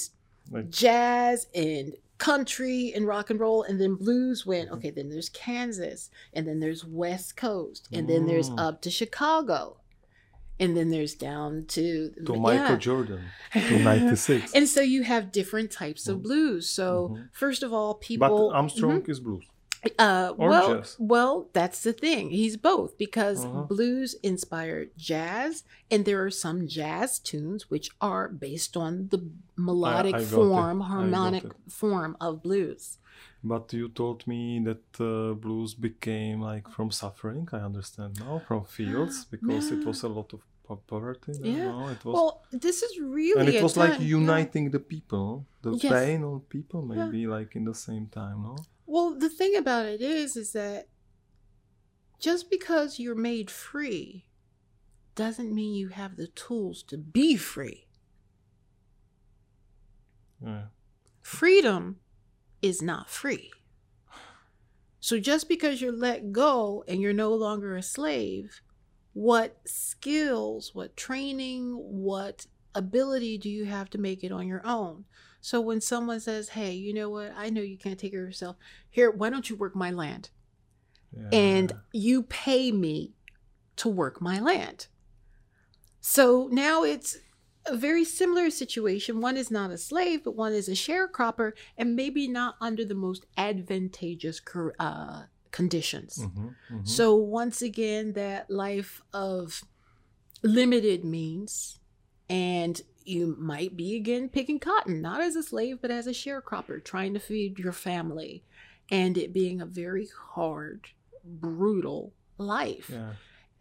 A: Like,
B: jazz and country and rock and roll, and then blues went, okay, then there's Kansas, and then there's West Coast, and then there's
A: Mm.
B: up to Chicago, and then there's down to
A: to
B: yeah.
A: Michael Jordan, to ninety-six.
B: And so you have different types of blues. So
A: Mhm.
B: first of all,
A: But
B: people
A: Armstrong is blues.
B: Uh,
A: Or
B: well,
A: jazz.
B: well, that's the thing. He's both because
A: Uh-huh.
B: blues inspired jazz, and there are some jazz tunes which are based on the melodic
A: I got it.
B: form,
A: I got
B: harmonic
A: it.
B: form of blues.
A: But you told me that uh, blues became like from suffering. I understand now, from fields, because it
B: Yeah.
A: was a lot of po- poverty. There,
B: Yeah.
A: no? It was,
B: Well, this is really
A: and it
B: a
A: was like
B: time- yeah.
A: uniting the people, the
B: Yes.
A: pain on people,
B: Yeah.
A: maybe like in the same time. No.
B: Well, the thing about it is, is that just because you're made free doesn't mean you have the tools to be free.
A: Yeah.
B: Freedom is not free. So just because you're let go and you're no longer a slave, what skills, what training, what ability do you have to make it on your own? So when someone says, hey, you know what, I know you can't take care of yourself. Here, why don't you work my land?
A: Yeah.
B: And you pay me to work my land. So now it's a very similar situation. One is not a slave, but one is a sharecropper, and maybe not under the most advantageous uh, conditions.
A: Mhm, mhm.
B: So once again, that life of limited means, and you might be again picking cotton, not as a slave, but as a sharecropper, trying to feed your family, and it being a very hard, brutal life.
A: Yeah.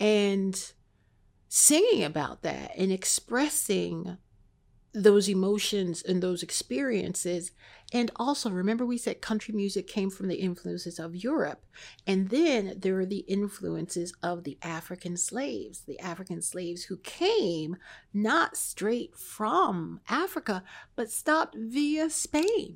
B: And singing about that and expressing those emotions and those experiences. And also, remember we said country music came from the influences of Europe. And then there are the influences of the African slaves, the African slaves who came not straight from Africa, but stopped via Spain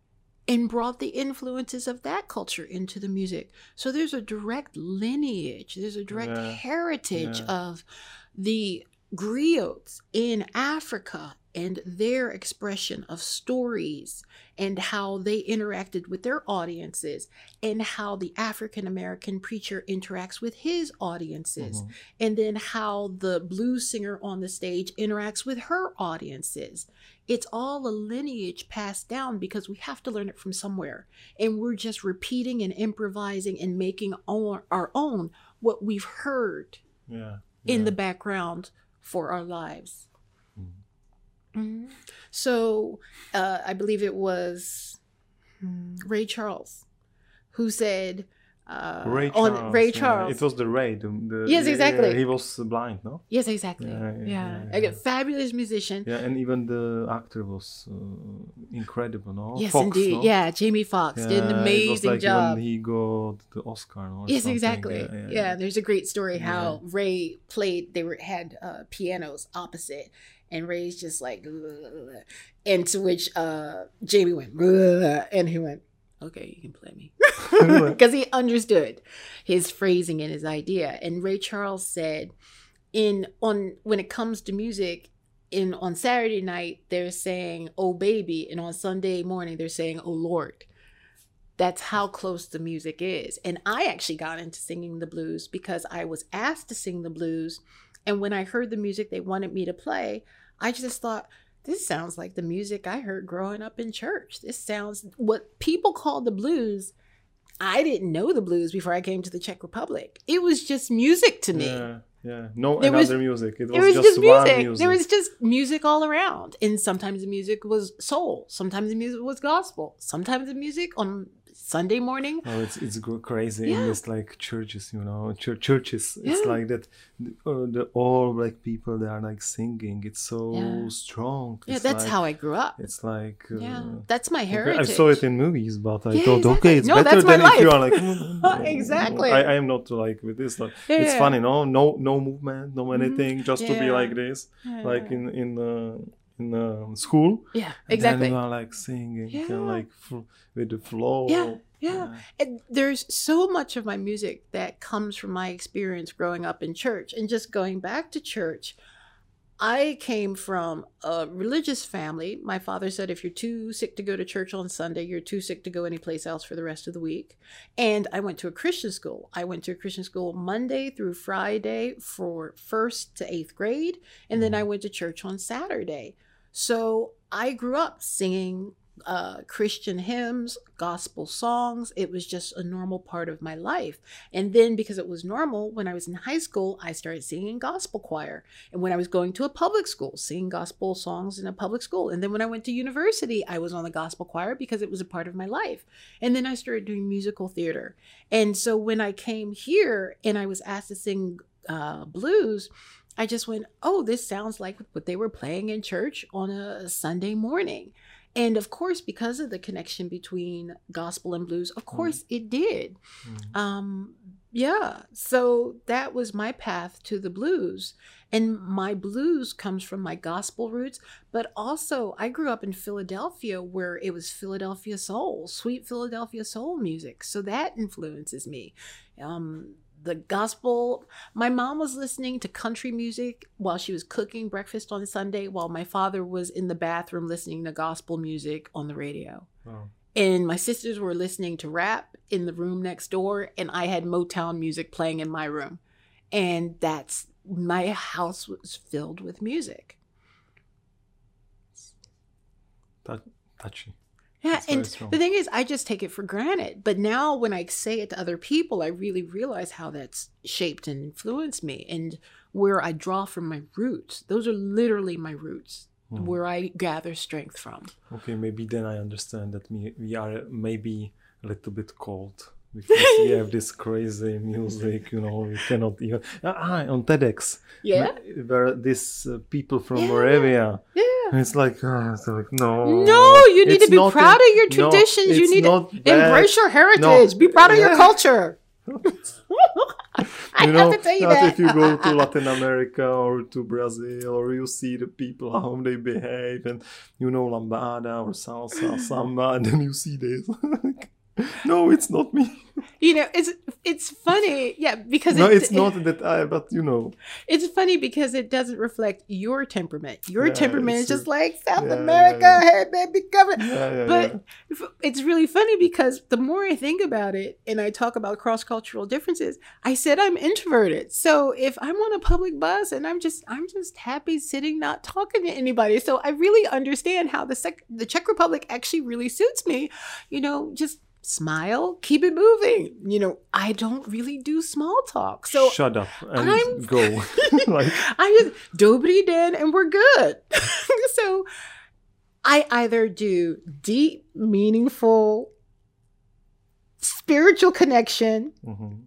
B: and brought the influences of that culture into the music. So there's a direct lineage, there's a direct
A: Yeah.
B: heritage
A: Yeah.
B: of the griots in Africa and their expression of stories and how they interacted with their audiences and how the African American preacher interacts with his audiences
A: Mhm.
B: and then how the blues singer on the stage interacts with her audiences. It's all a lineage passed down because we have to learn it from somewhere. And we're just repeating and improvising and making our, our own what we've heard
A: Yeah.
B: in
A: yeah.
B: the background for our lives.
A: Mhm.
B: Mhm. So uh, I believe it was hmm, Ray Charles who said, uh,
A: Ray
B: on
A: Charles.
B: Ray
A: yeah.
B: Charles.
A: It was the Ray. The, the,
B: Yes,
A: yeah,
B: exactly.
A: yeah, he was blind, no?
B: Yes, exactly.
A: Yeah,
B: Yeah,
A: yeah,
B: yeah.
A: yeah,
B: A
A: yeah.
B: fabulous musician.
A: Yeah, and even the actor was uh, incredible, no?
B: Yes,
A: Fox,
B: indeed.
A: no?
B: Yeah, Jamie Foxx did an
A: Yeah, it was
B: amazing
A: like
B: job.
A: when he got the Oscar, no? or
B: Yes,
A: something.
B: exactly.
A: Yeah,
B: Yeah,
A: yeah, yeah.
B: there's a great story how
A: Yeah.
B: Ray played. They were had uh, pianos opposite, and Ray's just like, "Ugh." And to which uh, Jamie went, "Ugh," and he went, "Okay, you can play me," because he understood his phrasing and his idea. And Ray Charles said, "In on when it comes to music." In on Saturday night, they're saying, "Oh baby," and on Sunday morning, they're saying, "Oh Lord." That's how close the music is. And I actually got into singing the blues because I was asked to sing the blues. And when I heard the music they wanted me to play, I just thought, this sounds like the music I heard growing up in church. This sounds what people call the blues. I didn't know the blues before I came to the Czech Republic. It was just music to me.
A: Yeah, yeah. No
B: There was-
A: another music. It was,
B: It was
A: just,
B: just
A: one
B: music.
A: music.
B: There was just music all around. And sometimes the music was soul. Sometimes the music was gospel. Sometimes the music on Sunday morning.
A: Oh, it's it's go- crazy
B: Yeah.
A: in this like churches, you know, chur- churches. It's
B: Yeah.
A: like that. Uh, the all black people they are like singing. It's so
B: Yeah.
A: strong.
B: Yeah,
A: It's
B: that's
A: like,
B: how I grew up.
A: It's like. Uh,
B: Yeah, that's my
A: okay,
B: heritage.
A: I saw it in movies, but I
B: Yeah,
A: thought,
B: exactly.
A: okay, it's
B: No,
A: better
B: that's my
A: than if you
B: life.
A: are like. "Mm, mm,
B: Exactly.
A: I, I am not like with this. Like,
B: Yeah,
A: it's
B: yeah.
A: funny, no, no, no movement, no
B: Mhm.
A: anything, just to be
B: Yeah.
A: like this, like
B: Yeah.
A: in in uh, in um, school.
B: Yeah,
A: And
B: exactly.
A: then you are like singing, kind
B: Yeah.
A: of like f- with the flow.
B: Yeah, yeah. And there's so much of my music that comes from my experience growing up in church. And just going back to church, I came from a religious family. My father said, if you're too sick to go to church on Sunday, you're too sick to go anyplace else for the rest of the week. And I went to a Christian school. I went to a Christian school Monday through Friday for first to eighth grade. And then I went to church on Saturday. So I grew up singing uh, Christian hymns, gospel songs. It was just a normal part of my life. And then because it was normal, when I was in high school, I started singing gospel choir. And when I was going to a public school, singing gospel songs in a public school. And then when I went to university, I was on the gospel choir because it was a part of my life. And then I started doing musical theater. And so when I came here and I was asked to sing uh, blues, I just went, oh, this sounds like what they were playing in church on a Sunday morning. And of course, because of the connection between gospel and blues, of course mm. it did. Mm. Um, yeah. So that was my path to the blues. And my blues comes from my gospel roots. But also, I grew up in Philadelphia where it was Philadelphia soul, sweet Philadelphia soul music. So that influences me. Um, The gospel, my mom was listening to country music while she was cooking breakfast on Sunday, while my father was in the bathroom listening to gospel music on the radio. Oh. And my sisters were listening to rap in the room next door, and I had Motown music playing in my room. And that's, my house was filled with music.
A: That, touchy.
B: Yeah, and the thing is, I just take it for granted. But now when I say it to other people, I really realize how that's shaped and influenced me and where I draw from my roots. Those are literally my roots, mm. where I gather strength from.
A: Okay, maybe then I understand that we, we are maybe a little bit cold because we have this crazy music, you know, we cannot even... Ah, on TEDx.
B: Yeah?
A: Where these uh, people from
B: yeah.
A: Moravia...
B: Yeah.
A: It's like, uh, it's like, no.
B: No, you need to be proud
A: a,
B: of your traditions.
A: No,
B: you need to
A: bad.
B: embrace your heritage. No. Be proud of yeah. your culture. I
A: you
B: have
A: know,
B: to tell you
A: not
B: that.
A: If you go to Latin America or to Brazil, or you see the people, how they behave, and you know, lambada or salsa, samba, and then you see this. No, it's not me.
B: You know, it's it's funny, yeah, because
A: no,
B: it,
A: it's not that I, but you know,
B: it's funny because it doesn't reflect your temperament. Your
A: yeah,
B: temperament is just like South
A: yeah,
B: America,
A: yeah, yeah.
B: hey baby, come in.
A: Yeah, yeah,
B: but
A: yeah.
B: it's really funny because the more I think about it and I talk about cross-cultural differences, I said I'm introverted. So if I'm on a public bus and I'm just I'm just happy sitting, not talking to anybody. So I really understand how the sec- the Czech Republic actually really suits me. You know, just smile, keep it moving. You know, I don't really do small talk. So
A: shut up and
B: I'm,
A: go. Like,
B: I just dobry den and we're good. So I either do deep, meaningful, spiritual connection, mm-hmm.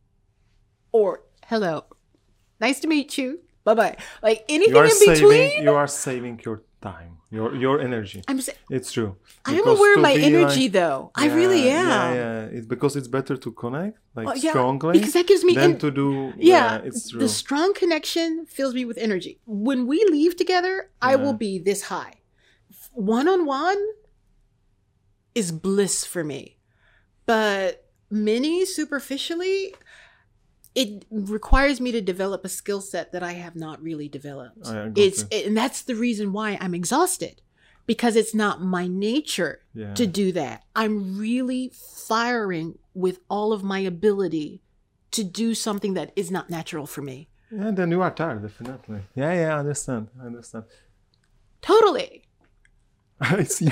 B: or hello, nice to meet you. Bye bye. Like anything in
A: saving,
B: between.
A: You are saving your time. Your your energy.
B: I'm sa-
A: it's true.
B: I am aware of my energy,
A: like,
B: though.
A: Yeah,
B: I really am.
A: Yeah, yeah. It's because it's better to connect, like
B: oh, yeah,
A: strongly,
B: because that gives me
A: than
B: en-
A: to do.
B: Yeah,
A: yeah, it's true.
B: The strong connection fills me with energy. When we leave together, yeah. I will be this high. One on one is bliss for me, but many superficially. It requires me to develop a skill set that I have not really developed. It's it, and that's the reason why I'm exhausted, because it's not my nature yeah. to do that. I'm really firing with all of my ability to do something that is not natural for me.
A: Yeah, then you are tired, definitely. Yeah, yeah, I understand. I understand.
B: Totally.
A: I see.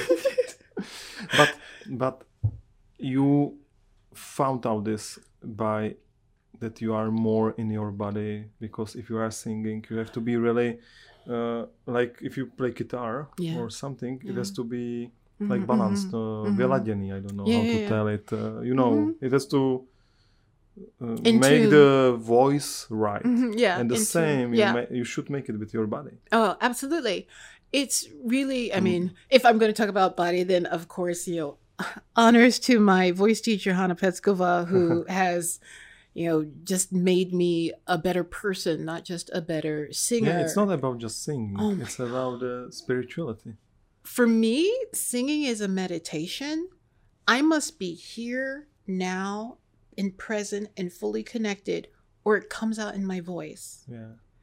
A: but but you found out this by that you are more in your body, because if you are singing, you have to be really uh, like if you play guitar yeah. or something, yeah. it has to be mm-hmm, like balanced, mm-hmm. uh, vyladěný. I don't know
B: yeah,
A: how to
B: yeah.
A: tell it. Uh, you know, mm-hmm. it has to uh,
B: Into...
A: make the voice right.
B: Mm-hmm, yeah,
A: and the
B: into...
A: same,
B: yeah.
A: you, ma- you should make it with your body.
B: Oh, absolutely. It's really, I mean, mm. if I'm going to talk about body, then of course, you know, honors to my voice teacher, Hanna Petskova, who has... you know, just made me a better person, not just a better singer.
A: Yeah, it's not about just singing.
B: Oh
A: it's about uh, spirituality.
B: For me, singing is a meditation. I must be here, now, and present, and fully connected, or it comes out in my voice.
A: Yeah.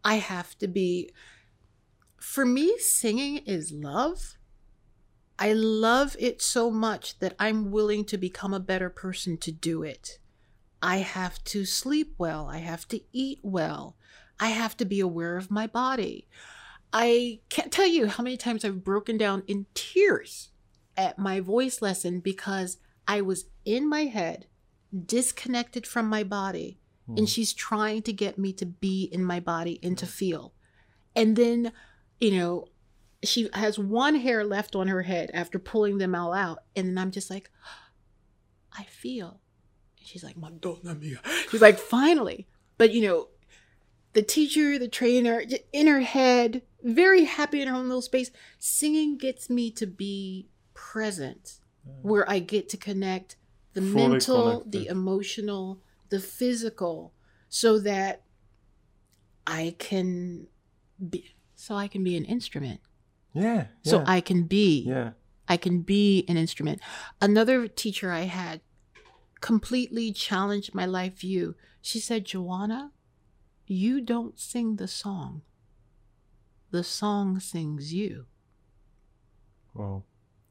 B: I have to be, for me, singing is love. I love it so much that I'm willing to become a better person to do it. I have to sleep well. I have to eat well. I have to be aware of my body. I can't tell you how many times I've broken down in tears at my voice lesson because I was in my head, disconnected from my body, mm. and she's trying to get me to be in my body and to feel. And then, you know, she has one hair left on her head after pulling them all out. And then I'm just like, I feel. And she's like, Madonna mia. She's like, finally. But, you know, the teacher, the trainer, in her head, very happy in her own little space. Singing gets me to be present, where I get to connect the Fully mental, connected. The emotional, the physical, so that I can be, so I can be an instrument.
A: Yeah, yeah.
B: So I can be,
A: yeah.
B: I can be an instrument. Another teacher I had completely challenged my life view. She said, Joanna, you don't sing the song. The song sings you.
A: Wow.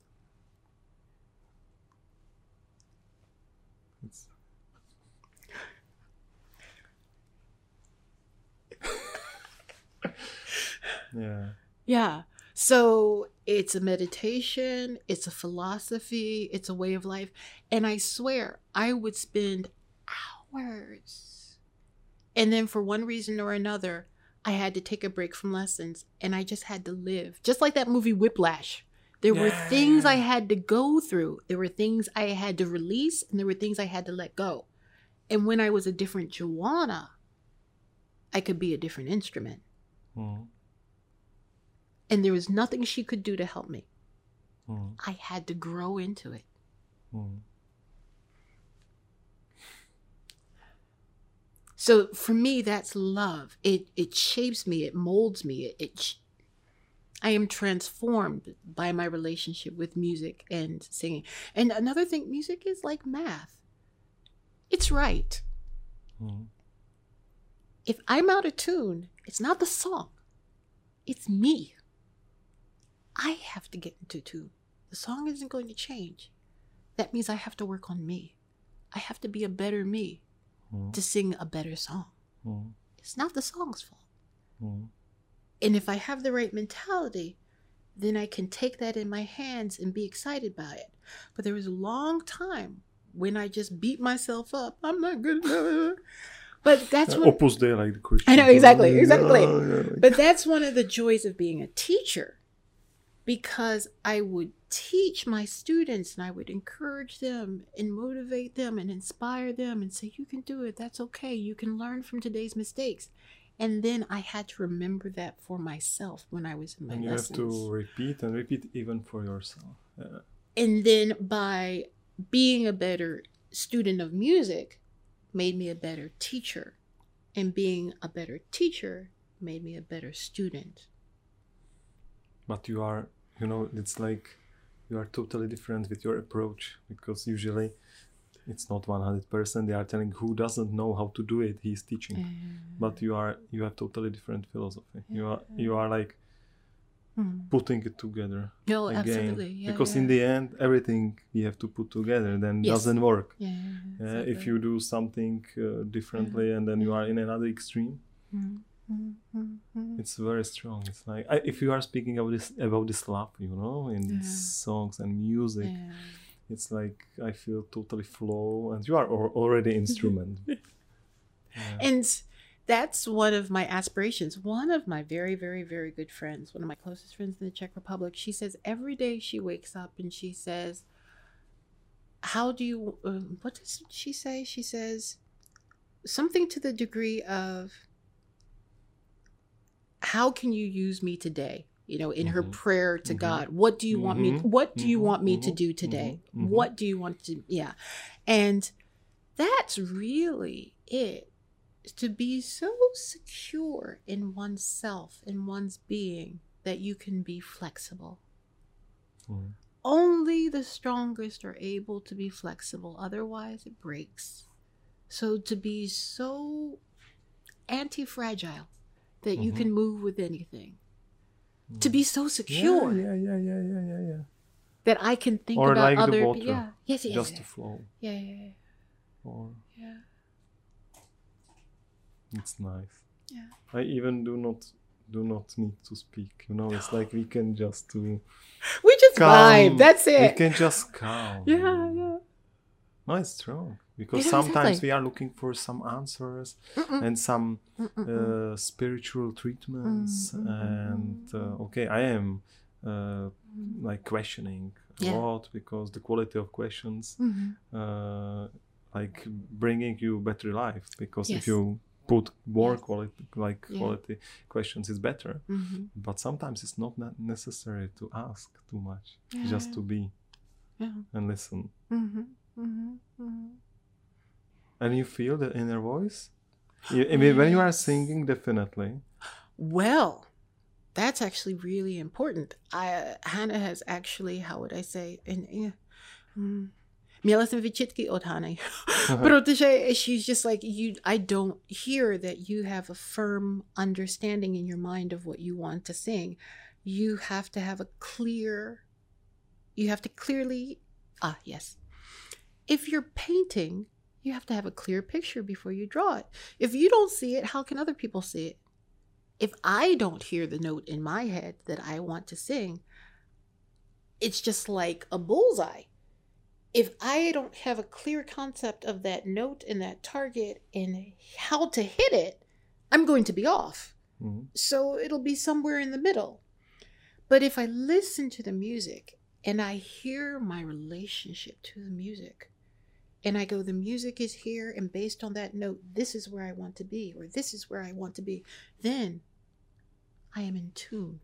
A: It's... yeah.
B: Yeah. So it's a meditation, it's a philosophy, it's a way of life. And I swear I would spend hours. And then for one reason or another, I had to take a break from lessons and I just had to live. Just like that movie Whiplash. There yeah. were things I had to go through. There were things I had to release and there were things I had to let go. And when I was a different Joanna, I could be a different instrument. Mm. And there was nothing she could do to help me. Mm. I had to grow into it. Mm. So for me, that's love. It it shapes me. It molds me. It, it I am transformed by my relationship with music and singing. And another thing, music is like math. It's right. Mm. If I'm out of tune, it's not the song. It's me. I have to get into tune. The song isn't going to change. That means I have to work on me. I have to be a better me mm. to sing a better song. Mm. It's not the song's fault. Mm. And if I have the right mentality, then I can take that in my hands and be excited by it. But there was a long time when I just beat myself up. I'm not good enough. But that's what...
A: Opus Dei, like the Christian.
B: I know, exactly, exactly. No, no, like... But that's one of the joys of being a teacher. Because I would teach my students and I would encourage them and motivate them and inspire them and say, you can do it. That's okay. You can learn from today's mistakes. And then I had to remember that for myself when I was in my
A: and you
B: lessons.
A: have to repeat and repeat even for yourself. Yeah.
B: And then by being a better student of music made me a better teacher. And being a better teacher made me a better student.
A: But you are, you know, it's like you are totally different with your approach, because usually it's not one hundred percent. They are telling who doesn't know how to do it, he's teaching. Mm. But you are, you have totally different philosophy. You are, you are like mm. putting it together
B: no,
A: again.
B: Absolutely. Yeah,
A: because
B: yeah.
A: in the end, everything we have to put together, then yes. doesn't work.
B: Yeah,
A: yeah,
B: exactly.
A: If you do something uh, differently mm. and then you are in another extreme. Mm. Mm-hmm. It's very strong. It's like I, if you are speaking about this about this love, you know, in yeah. songs and music, yeah. it's like I feel totally flow, and you are already instrument. yeah.
B: And that's one of my aspirations. One of my very, very, very good friends, one of my closest friends in the Czech Republic, she says every day she wakes up and she says, "How do you?" Uh, what does she say? She says something to the degree of, how can you use me today? You know, in mm-hmm. her prayer to mm-hmm. God, what do you mm-hmm. want me, what do you mm-hmm. want me mm-hmm. to do today? Mm-hmm. What do you want to, yeah. And that's really it, to be so secure in oneself, in one's being, that you can be flexible. Mm-hmm. Only the strongest are able to be flexible. Otherwise it breaks. So to be so anti-fragile, that you
A: Mhm.
B: can move with anything. To be so secure
A: Yeah, yeah, yeah, yeah, yeah, yeah, yeah.
B: that I can think
A: Or
B: about
A: like the
B: other
A: water,
B: people. Yeah. Yes, yes,
A: just
B: yeah.
A: to flow.
B: Yeah, yeah,
A: Or
B: yeah.
A: it's nice.
B: Yeah.
A: I even do not do not need to speak. You know, it's like we can just do
B: We just
A: calm.
B: vibe. That's
A: We
B: it.
A: can just calm. you
B: Yeah,
A: know.
B: yeah.
A: No, it's true. Because
B: Yeah,
A: sometimes
B: exactly.
A: we are looking for some answers
B: Mm-mm.
A: and some
B: Mm-mm-mm.
A: uh, spiritual treatments.
B: Mm, mm, mm,
A: And uh, okay, I am uh, like questioning a
B: Yeah.
A: lot because the quality of questions
B: Mhm.
A: uh, like bringing you better life. Because
B: Yes.
A: if you put more
B: Yes.
A: quality like
B: Yeah.
A: quality questions, it's better.
B: Mhm.
A: But sometimes it's not ne- necessary to ask too much,
B: Yeah.
A: just to be
B: Yeah.
A: and listen.
B: Mhm. Mhm. Mhm.
A: And you feel the inner voice? You, I mean, when you are
B: Yes.
A: singing, definitely.
B: Well, that's actually really important. I Hannah has actually, how would I say, in yeah, mm, měla jsem výčitky od Hany, protože she's just like you. I don't hear that you have a firm understanding in your mind of what you want to sing. You have to have a clear. You have to clearly. Ah, yes. If you're painting, you have to have a clear picture before you draw it. If you don't see it, how can other people see it? If I don't hear the note in my head that I want to sing, it's just like a bullseye. If I don't have a clear concept of that note and that target and how to hit it, I'm going to be off.
A: Mhm.
B: So it'll be somewhere in the middle. But if I listen to the music and I hear my relationship to the music, and I go, the music is here, and based on that note, this is where I want to be, or this is where I want to be, then I am in tune.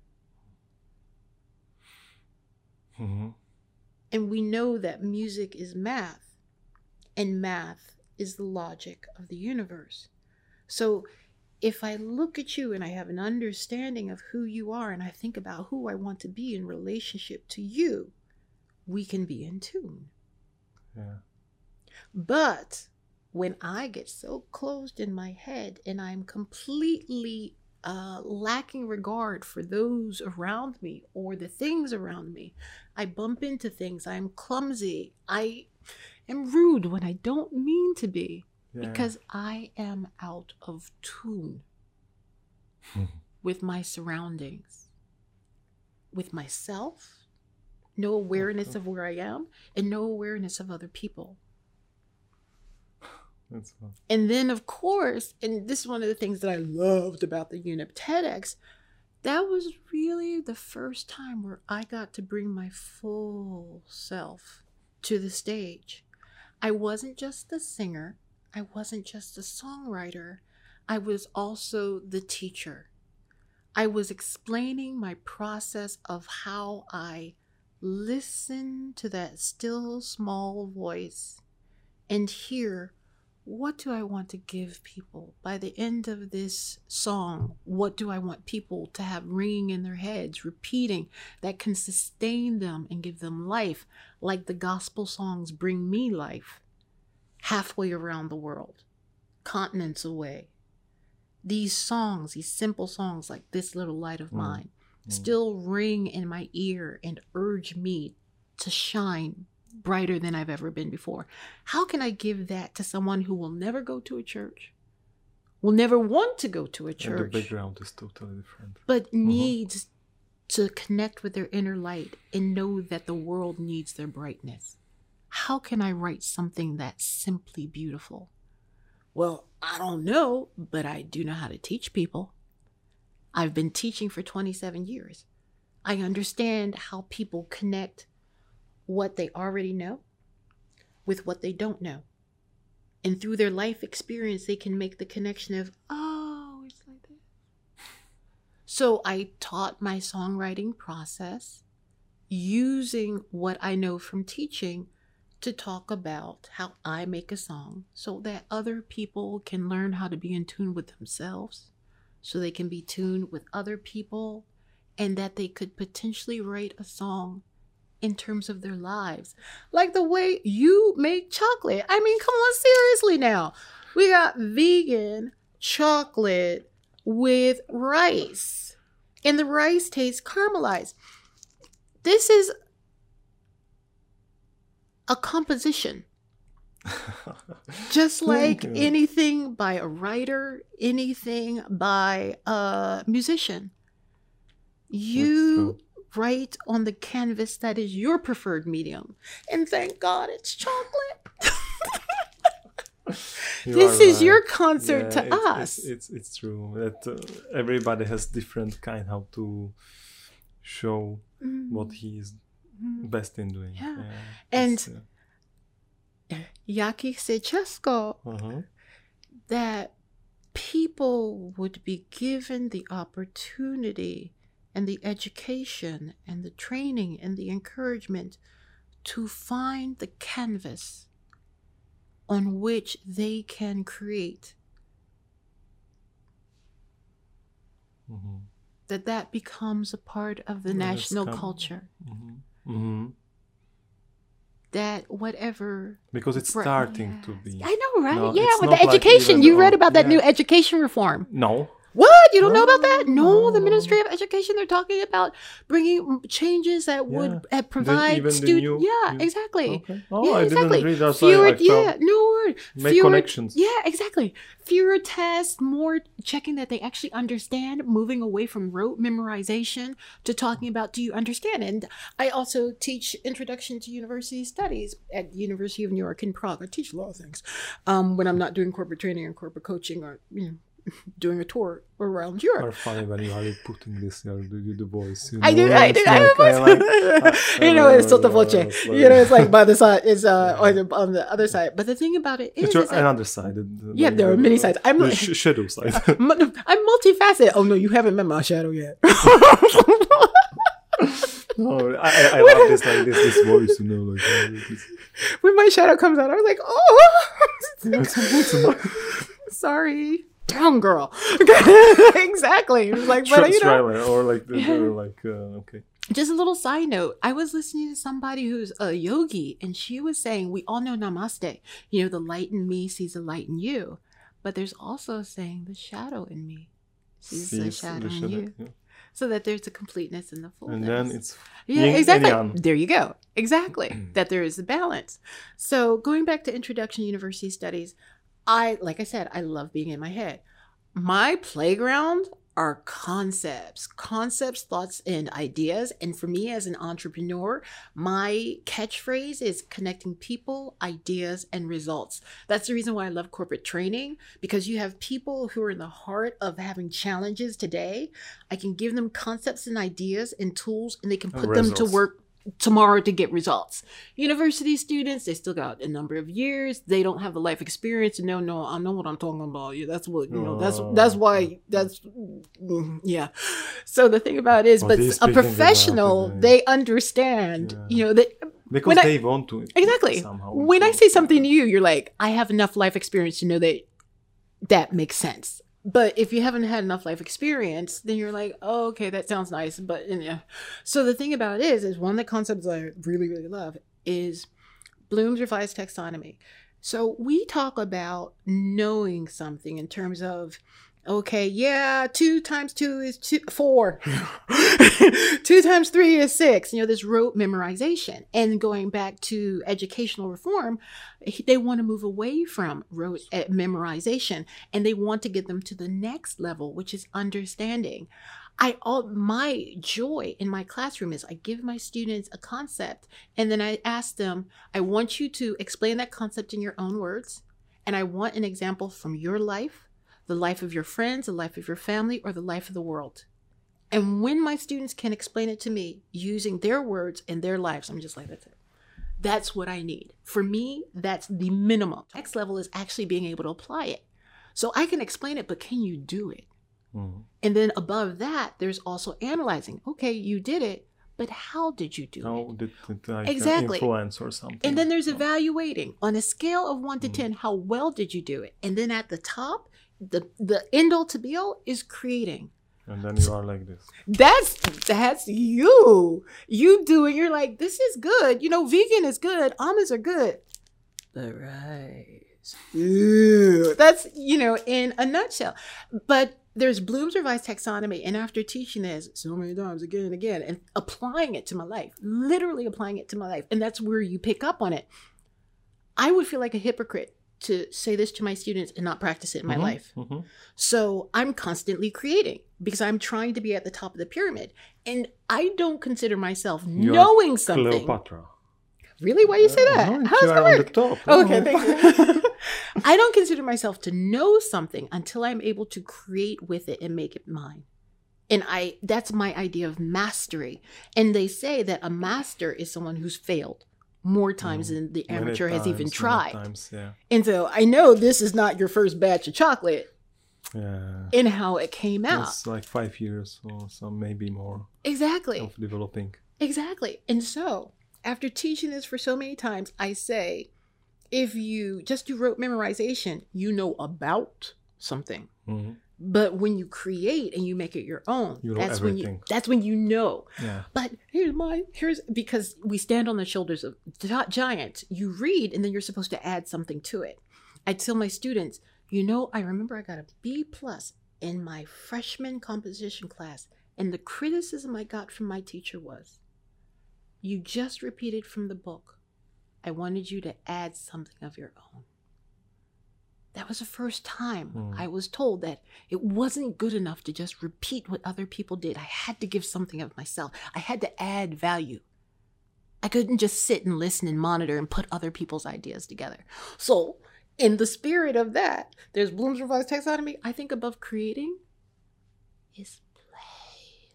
A: Mhm.
B: And we know that music is math, and math is the logic of the universe. So if I look at you and I have an understanding of who you are, and I think about who I want to be in relationship to you, we can be in tune.
A: Yeah.
B: But when I get so closed in my head and I'm completely uh, lacking regard for those around me or the things around me, I bump into things. I'm clumsy. I am rude when I don't mean to be
A: Yeah.
B: because I am out of tune with my surroundings, with myself, no awareness of where I am, and no awareness of other people.
A: That's fun.
B: And then, of course, and this is one of the things that I loved about the UNIP TEDx, that was really the first time where I got to bring my full self to the stage. I wasn't just the singer. I wasn't just a songwriter. I was also the teacher. I was explaining my process of how I listen to that still small voice and hear, what do I want to give people? By the end of this song, what do I want people to have ringing in their heads, repeating, that can sustain them and give them life, like the gospel songs bring me life, halfway around the world, continents away. These songs, these simple songs like This Little Light of
A: Mm.
B: Mine,
A: Mm.
B: still ring in my ear and urge me to shine brighter than I've ever been before. How can I give that to someone who will never go to a church, will never want to go to a
A: And the
B: church,
A: background is totally different.
B: but needs to connect with their inner light and know that the world needs their brightness? How can I write something that's simply beautiful? Well, I don't know, but I do know how to teach people. I've been teaching for twenty-seven years. I understand how people connect what they already know with what they don't know. And through their life experience, they can make the connection of, oh, it's like that. So I taught my songwriting process using what I know from teaching to talk about how I make a song so that other people can learn how to be in tune with themselves, so they can be tuned with other people, and that they could potentially write a song in terms of their lives. Like the way you make chocolate. I mean, come on, seriously now. We got vegan chocolate with rice, and the rice tastes caramelized. This is a composition. Just like
A: you.
B: anything by a writer, anything by a musician. You write on the canvas that is your preferred medium. And thank God it's chocolate. This is
A: right.
B: your concert
A: Yeah,
B: to
A: it's,
B: us.
A: It's, it's, it's true that uh, everybody has different kind how to show
B: Mm.
A: what he is
B: Mm.
A: best in doing.
B: Yeah.
A: Yeah,
B: And
A: it's, uh,
B: Jaki Sečesko,
A: uh-huh.
B: that people would be given the opportunity and the education and the training and the encouragement to find the canvas on which they can create,
A: Mm-hmm.
B: that that becomes a part of the
A: Yeah, that's
B: national
A: kind of-
B: culture,
A: Mm-hmm. Mm-hmm.
B: that whatever...
A: Because it's
B: Right,
A: starting to
B: yes.
A: be.
B: I know, right?
A: No,
B: yeah,
A: it's
B: with
A: not
B: the
A: like
B: education.
A: even
B: You read
A: on-
B: about that
A: yeah.
B: new education reform.
A: No.
B: What? You don't know about that? No,
A: No,
B: the
A: no,
B: Ministry
A: no.
B: of Education, they're talking about bringing changes that would
A: Yeah.
B: uh, provide
A: even the
B: student.
A: new-
B: Yeah,
A: new-
B: exactly.
A: Okay. Oh,
B: Yeah,
A: I
B: exactly.
A: didn't read that.
B: Fewer,
A: I, I
B: yeah,
A: felt
B: no word.
A: make
B: Fewer,
A: connections.
B: Yeah, exactly. Fewer tests, more checking that they actually understand, moving away from rote memorization to talking about, do you understand? And I also teach Introduction to University Studies at the University of New York in Prague. I teach a lot of things um, when I'm not doing corporate training or corporate coaching or, you know, doing a tour around Europe.
A: Are funny when you are like putting this, you do you the voice. You
B: I do,
A: know,
B: I
A: it's
B: do. I,
A: like- I like- I-
B: you know,
A: I
B: it's
A: like-
B: sottovoce.
A: I like-
B: You know, it's like by the side, it's uh,
A: Yeah.
B: on, the, on the other side. But the thing about it is,
A: It's your,
B: is that-
A: another side. the- the-
B: yeah, there are
A: the-
B: many sides. I'm
A: the
B: like-
A: sh- shadow side.
B: mu- I'm multifaceted. Oh no, you haven't met my shadow yet.
A: No, I, I, I love this like this this voice, you know, like uh, this-
B: When my shadow comes out, I was like, oh,
A: it's a- it's a-
B: sorry, down girl. Exactly. It was like, but
A: Tra-
B: you know,
A: trailer or like the, the like uh, okay.
B: just a little side note. I was listening to somebody who's a yogi, and she was saying, we all know namaste. You know, the light in me sees the light in you. But there's also saying the shadow in me sees the
A: Sees
B: shadow
A: the
B: in
A: shadow,
B: you.
A: yeah.
B: So that there's a completeness in the fullness.
A: And then it's
B: Yeah,
A: yin and
B: exactly.
A: yang.
B: There you go. Exactly. That there is a balance. So going back to Introduction to University Studies, I, like I said, I love being in my head. My playground are concepts, concepts, thoughts, and ideas. And for me as an entrepreneur, my catchphrase is connecting people, ideas, and results. That's the reason why I love corporate training, because you have people who are in the heart of having challenges today. I can give them concepts and ideas and tools, and they can
A: And
B: put them to
A: results.
B: work tomorrow to get results. University students, they still got a number of years. They don't have the life experience. No, no, I know what I'm talking about. Yeah, that's what, you know, that's
A: Oh.
B: that's why, that's, mm, yeah. So the thing about it is,
A: Oh,
B: but
A: they're
B: a
A: speaking about
B: professional,
A: it, yeah.
B: they understand,
A: Yeah.
B: you know, that
A: Because
B: when I-
A: they want to
B: exactly.
A: somehow.
B: When I
A: improve.
B: say something to you, you're like, I have enough life experience to know that that makes sense. But if you haven't had enough life experience, then you're like, oh, okay, that sounds nice. But and yeah. So the thing about it is, is one of the concepts I really, really love is Bloom's revised taxonomy. So we talk about knowing something in terms of, okay, yeah, two times two is two, four. Two times three is six. You know, this rote memorization. And going back to educational reform, they want to move away from rote eh, memorization, and they want to get them to the next level, which is understanding. I all my joy in my classroom is I give my students a concept, and then I ask them, I want you to explain that concept in your own words, and I want an example from your life, the life of your friends, the life of your family, or the life of the world. And when my students can explain it to me using their words and their lives, I'm just like, that's it. That's what I need. For me, that's the minimum. Next level is actually being able to apply it. So I can explain it, but can you do it?
A: Mm.
B: And then above that, there's also analyzing. Okay, you did it, but how did you do
A: How
B: it?
A: did it like,
B: Exactly.
A: uh, influence or something?
B: And then there's
A: No.
B: evaluating on a scale of one to
A: Mm.
B: ten. How well did you do it? And then at the top, the the end all to be all is creating.
A: And then you are like this.
B: That's that's you. You do it. You're like, this is good. You know, vegan is good. Almonds are good. But rice. Ew. That's, you know, in a nutshell. But there's Bloom's revised taxonomy, and after teaching this so many times again and again and applying it to my life, literally applying it to my life, and that's where you pick up on it, I would feel like a hypocrite to say this to my students and not practice it in my
A: Mhm,
B: life.
A: mhm.
B: So I'm constantly creating because I'm trying to be at the top of the pyramid, and I don't consider myself
A: You're
B: knowing something.
A: Cleopatra.
B: Really? Why do you say
A: Uh,
B: that?
A: no,
B: How does
A: you
B: that
A: are on the
B: work?
A: top.
B: Okay,
A: Oh.
B: thank you. I don't consider myself to know something until I'm able to create with it and make it mine. And I that's my idea of mastery. And they say that a master is someone who's failed more times
A: Mm.
B: than the
A: Many
B: amateur has even
A: times, many
B: tried.
A: times, yeah.
B: And so I know this is not your first batch of chocolate
A: Yeah.
B: in how it came out.
A: It's like five years or some, maybe more
B: Exactly.
A: of developing.
B: Exactly. And so, after teaching this for so many times, I say, if you just do rote memorization, you know about something.
A: Mhm.
B: But when you create and you make it your own,
A: You know
B: that's when you
A: everything.
B: that's when you know.
A: Yeah.
B: But here's mine. Here's because we stand on the shoulders of gi- giants. You read and then you're supposed to add something to it. I tell my students, you know, I remember I got a B plus in my freshman composition class, and the criticism I got from my teacher was, you just repeated from the book. I wanted you to add something of your own. That was the first time
A: Mm.
B: I was told that it wasn't good enough to just repeat what other people did. I had to give something of myself. I had to add value. I couldn't just sit and listen and monitor and put other people's ideas together. So, in the spirit of that, there's Bloom's revised taxonomy. I think above creating is play.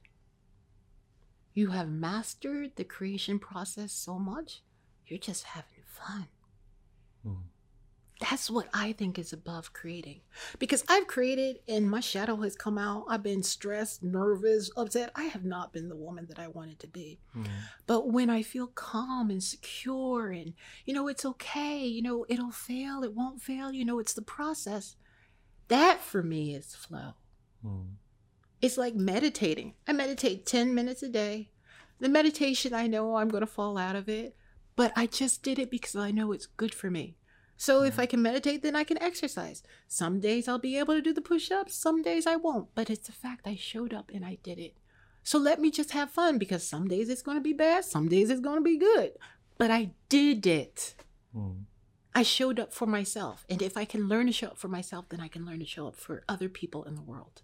B: You have mastered the creation process so much, you're just having fun.
A: Mm.
B: That's what I think is above creating. Because I've created and my shadow has come out. I've been stressed, nervous, upset. I have not been the woman that I wanted to be.
A: Mm.
B: But when I feel calm and secure and, you know, it's okay, you know, it'll fail, it won't fail, you know, it's the process. That for me is flow.
A: Mm.
B: It's like meditating. I meditate ten minutes a day. The meditation, I know I'm going to fall out of it, but I just did it because I know it's good for me. So if I can meditate, then I can exercise. Some days I'll be able to do the push-ups. Some days I won't. But it's the fact I showed up and I did it. So let me just have fun because some days it's going to be bad. Some days it's going to be good. But I did it.
A: Mm.
B: I showed up for myself. And if I can learn to show up for myself, then I can learn to show up for other people in the world.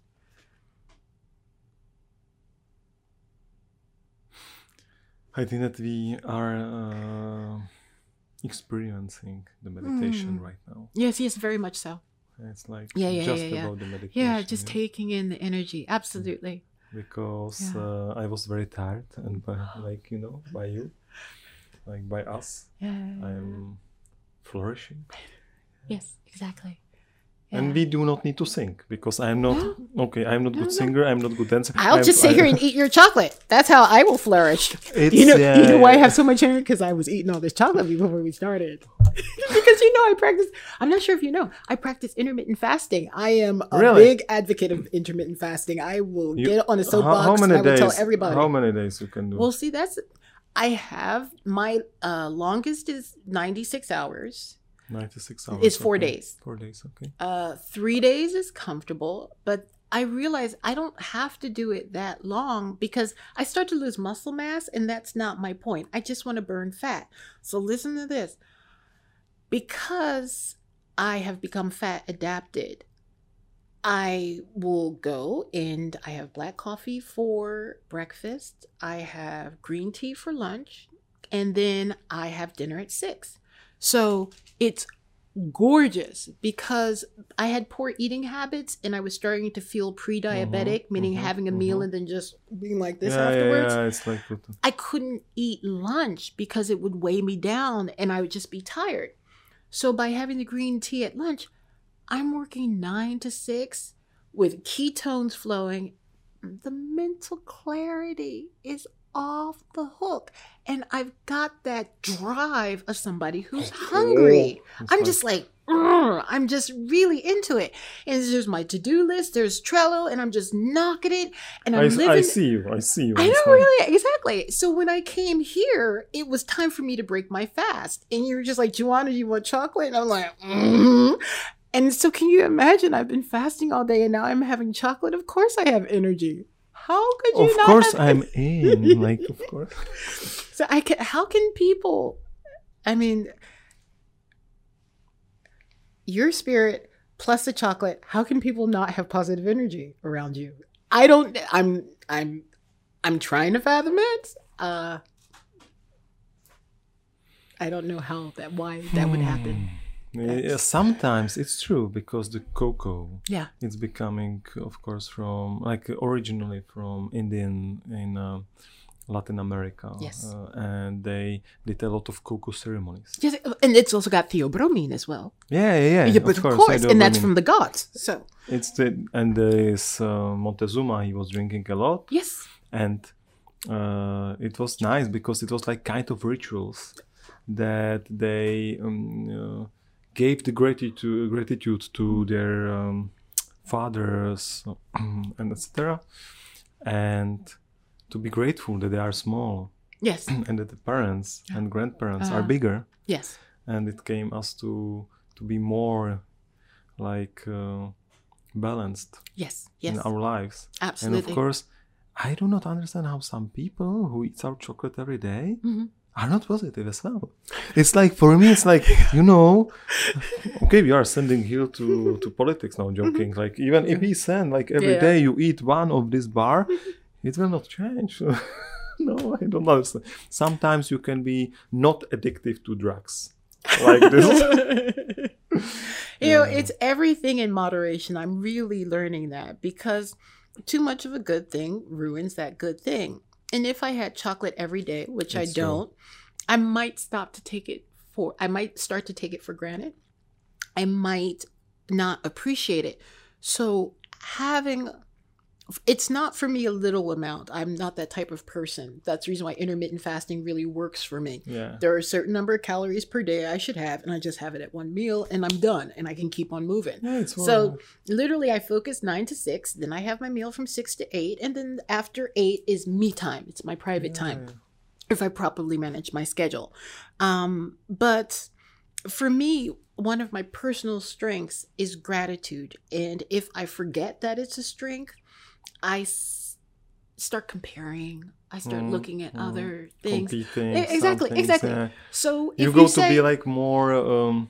A: I think that we are uh, experiencing the meditation
B: Mm.
A: right now.
B: Yes, yes, very much so.
A: It's like
B: Yeah, yeah,
A: just
B: yeah, yeah.
A: about the meditation.
B: Yeah, just
A: yeah.
B: taking in the energy. Absolutely.
A: Because
B: Yeah.
A: uh, I was very tired, and by, like you know, by you, like by us,
B: Yeah.
A: I'm flourishing.
B: Yes, exactly.
A: And
B: Yeah.
A: we do not need to sing because I'm not okay. I'm not
B: No,
A: good
B: no.
A: singer. I'm not good dancer.
B: I'll
A: I'm-
B: just sit
A: I-
B: here and eat your chocolate. That's how I will flourish.
A: It's,
B: You know,
A: yeah,
B: you know why I
A: yeah.
B: have so much energy? Because I was eating all this chocolate before we started. Because you know, I practice. I'm not sure if you know, I practice intermittent fasting. I am a
A: Really?
B: big advocate of intermittent fasting. I will
A: You-
B: get on a
A: How,
B: soapbox
A: how
B: and
A: many
B: I will
A: days?
B: tell everybody.
A: How many days you can do?
B: Well, see, that's. I have my uh, longest is ninety-six hours.
A: Ninety-six hours.
B: It's four
A: okay.
B: days.
A: Four days. Okay.
B: Uh, three days is comfortable, but I realize I don't have to do it that long because I start to lose muscle mass, and that's not my point. I just want to burn fat. So listen to this. Because I have become fat adapted, I will go and I have black coffee for breakfast. I have green tea for lunch, and then I have dinner at six. So it's gorgeous because I had poor eating habits and I was starting to feel pre-diabetic,
A: Mhm,
B: meaning
A: mhm,
B: having a meal
A: mhm.
B: and then just being like this
A: yeah,
B: afterwards.
A: Yeah, yeah, it's like that.
B: I couldn't eat lunch because it would weigh me down and I would just be tired. So by having the green tea at lunch, I'm working nine to six with ketones flowing. The mental clarity is off the hook. And I've got that drive of somebody who's hungry.
A: It's
B: I'm
A: like-
B: just like, "Ugh," I'm just really into it. And there's my to-do list, there's Trello, and I'm just knocking it. And I'm
A: I,
B: living.
A: I see you. I see you.
B: I
A: It's
B: know,
A: like-
B: really, exactly. So when I came here, it was time for me to break my fast. And you were just like, Joanna, you want chocolate? And I'm like, mm-hmm. And so can you imagine, I've been fasting all day and now I'm having chocolate? Of course I have energy. How could you
A: Of
B: not
A: course
B: have
A: I'm in. Like, of course.
B: So I can, how can people, I mean, your spirit plus the chocolate, how can people not have positive energy around you? I don't, I'm, I'm, I'm trying to fathom it. Uh, I don't know how that, why that would happen.
A: Yeah, sometimes it's true because the cocoa,
B: Yeah.
A: it's becoming, of course, from like originally from Indian in uh, Latin America.
B: Yes.
A: Uh, and they did a lot of cocoa ceremonies.
B: Yes, and it's also got theobromine as well.
A: Yeah, yeah, yeah.
B: Yeah, but of course, and that's
A: theobromine.
B: from the gods. So
A: It's the and this uh, Montezuma, he was drinking a lot,
B: yes,
A: and uh, it was nice because it was like kind of rituals that they um, uh, gave the gratitude gratitude to their um, fathers and et cetera, and to be grateful that they are small
B: yes,
A: and that the parents and grandparents are
B: Uh-huh.
A: bigger,
B: yes,
A: and it came us to to be more like uh, balanced
B: yes, yes,
A: in our lives.
B: absolutely.
A: And of course, I do not understand how some people who eat our chocolate every day
B: Mhm.
A: are not positive as well. It's like, for me, it's like, you know, okay, we are sending here to, to politics now, joking. Like, even if we send, like, every
B: Yeah.
A: day you eat one of this bar, it will not change. No, I don't understand. Sometimes you can be not addictive to drugs. Like this.
B: You know,
A: Yeah.
B: it's everything in moderation. I'm really learning that because too much of a good thing ruins that good thing. And if I had chocolate every day, which I
A: It's true.
B: don't, I might stop to take it for, I might start to take it for granted. I might not appreciate it. So having, it's not for me a little amount. I'm not that type of person. That's the reason why intermittent fasting really works for me.
A: Yeah.
B: There are a certain number of calories per day I should have, and I just have it at one meal, and I'm done, and I can keep on moving.
A: Yeah, it's
B: So
A: alright.
B: literally, I focus nine to six, then I have my meal from six to eight, and then after eight is me time. It's my private time,
A: Yeah.
B: if I properly manage my schedule. Um, but for me, one of my personal strengths is gratitude, and if I forget that it's a strength, I s- start comparing. I start
A: Mm,
B: looking at
A: mm.
B: other things.
A: Competing.
B: E- exactly,
A: some things,
B: exactly.
A: yeah.
B: So if
A: You
B: you,
A: go
B: say,
A: to be like more um,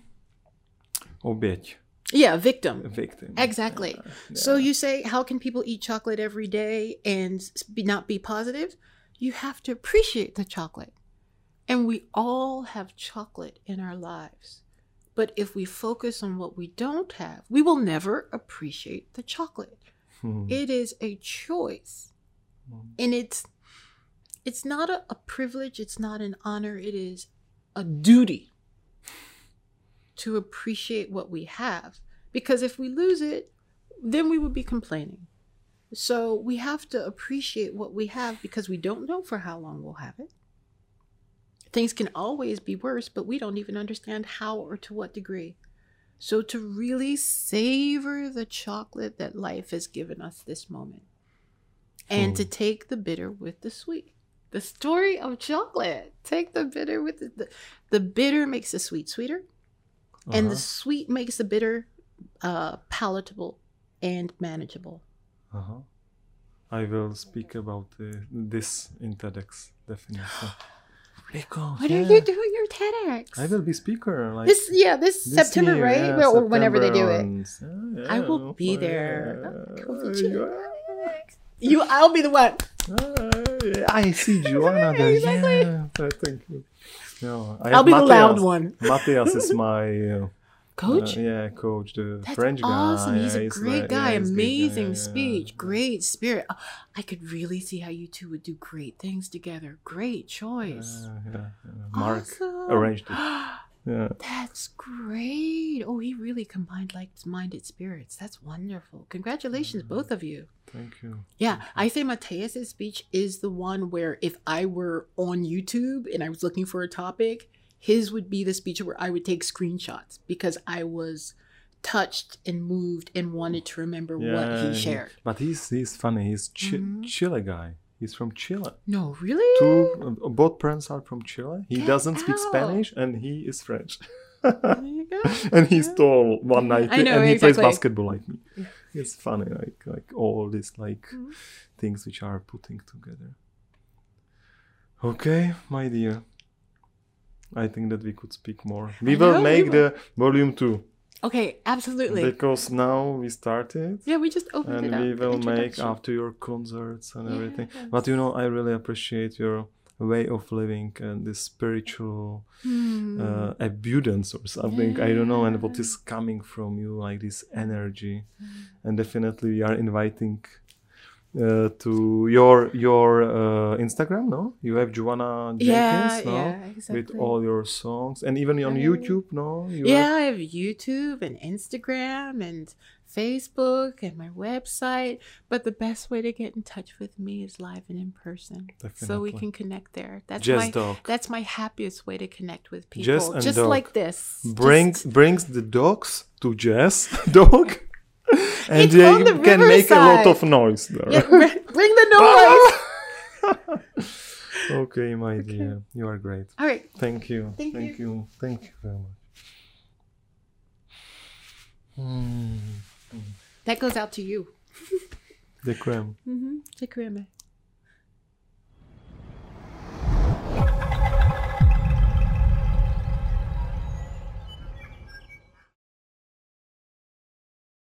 A: oběť,
B: yeah, victim.
A: a victim.
B: Exactly.
A: Yeah,
B: So
A: yeah.
B: you say, how can people eat chocolate every day and s- be, not be positive? You have to appreciate the chocolate. And we all have chocolate in our lives. But if we focus on what we don't have, we will never appreciate the chocolate.
A: Hmm.
B: It is a choice. And it's it's not a, a privilege, it's not an honor, it is a duty to appreciate what we have. Because if we lose it, then we would be complaining. So we have to appreciate what we have because we don't know for how long we'll have it. Things can always be worse, but we don't even understand how or to what degree. So to really savor the chocolate that life has given us this moment and to
A: Hmm.
B: take the bitter with the sweet. The story of chocolate. Take the bitter with the, the, the bitter makes the sweet sweeter, and the
A: Uh-huh.
B: sweet makes the bitter uh, palatable and manageable.
A: Uh-huh. I will speak about uh, this in TEDx, definitely. Because,
B: What
A: yeah,
B: are you doing your TEDx?
A: I will be speaker. Like
B: This yeah, this,
A: this
B: September,
A: year,
B: right?
A: yeah,
B: Well, or whenever they do
A: September
B: it.
A: on- yeah,
B: I
A: yeah,
B: will be
A: yeah,
B: there.
A: yeah,
B: I'll be you.
A: yeah.
B: You, I'll be the one.
A: Uh, I see Joanna there.
B: Exactly.
A: Yeah, uh, thank you. No, I
B: I'll
A: have
B: be the loud
A: Matthias.
B: one.
A: Matthias is my uh,
B: Coach?
A: uh, yeah, coach, the
B: That's
A: French guy.
B: awesome. He's a
A: Yeah,
B: great
A: like-
B: guy.
A: yeah, he's a great guy.
B: Amazing
A: Yeah, yeah,
B: speech.
A: yeah.
B: Great spirit. Oh, I could really see how you two would do great things together. Great choice.
A: Yeah, yeah, yeah. Mark
B: Awesome.
A: arranged it. Yeah.
B: That's great. Oh, he really combined like-minded spirits. That's wonderful. Congratulations, both of you.
A: Thank you.
B: Yeah, I say Matthias' speech is the one where if I were on YouTube and I was looking for a topic, his would be the speech where I would take screenshots because I was touched and moved and wanted to remember what
A: Yeah,
B: he shared.
A: But he's he's funny. He's Chi-
B: Mhm.
A: Chile guy. He's from Chile.
B: No, really?
A: Two, uh, both parents are from Chile. He
B: Get
A: doesn't speak
B: out.
A: Spanish and he is French.
B: There you go.
A: And he's
B: Yeah.
A: tall, one
B: Yeah,
A: ninety,
B: I know,
A: and he
B: exactly.
A: plays basketball like me.
B: Yeah.
A: It's funny, like like all these like
B: Mhm.
A: things which are putting together. Okay, my dear. I think that we could speak more. We
B: I
A: will
B: know, we
A: make
B: will.
A: the volume two
B: Okay, absolutely.
A: because now we started.
B: Yeah, we just opened
A: And
B: it up.
A: we
B: the
A: will make
B: introduction.
A: after your concerts and everything. But you know, I really appreciate your way of living and this spiritual
B: Hmm.
A: uh, abundance or something. I don't know, and what
B: Yeah.
A: is coming from you, like this energy. And definitely, we are inviting uh, to your your uh, Instagram. No, you have Joanna
B: Yeah,
A: Jenkins, no,
B: yeah,
A: with
B: exactly.
A: all your songs, and even on
B: Right.
A: YouTube. No, you
B: Yeah,
A: have
B: I have YouTube and Instagram and Facebook and my website. But the best way to get in touch with me is live and in person. So we
A: Definitely.
B: can connect there. That's
A: Jazz
B: my
A: Dog.
B: that's my happiest way to connect with people.
A: Jazz and
B: Just
A: dog.
B: like this.
A: Bring
B: Just-
A: brings the dogs to Jazz Dog, and
B: It's
A: they
B: on the
A: can make a lot
B: riverside.
A: of noise there.
B: Yeah, bring, bring the noise.
A: Okay, my dear, you are great.
B: All right.
A: Thank you.
B: Thank
A: Thank you. Thank you very much. Mm.
B: That goes out to you.
A: The creme.
B: Mm-hmm. Te creme.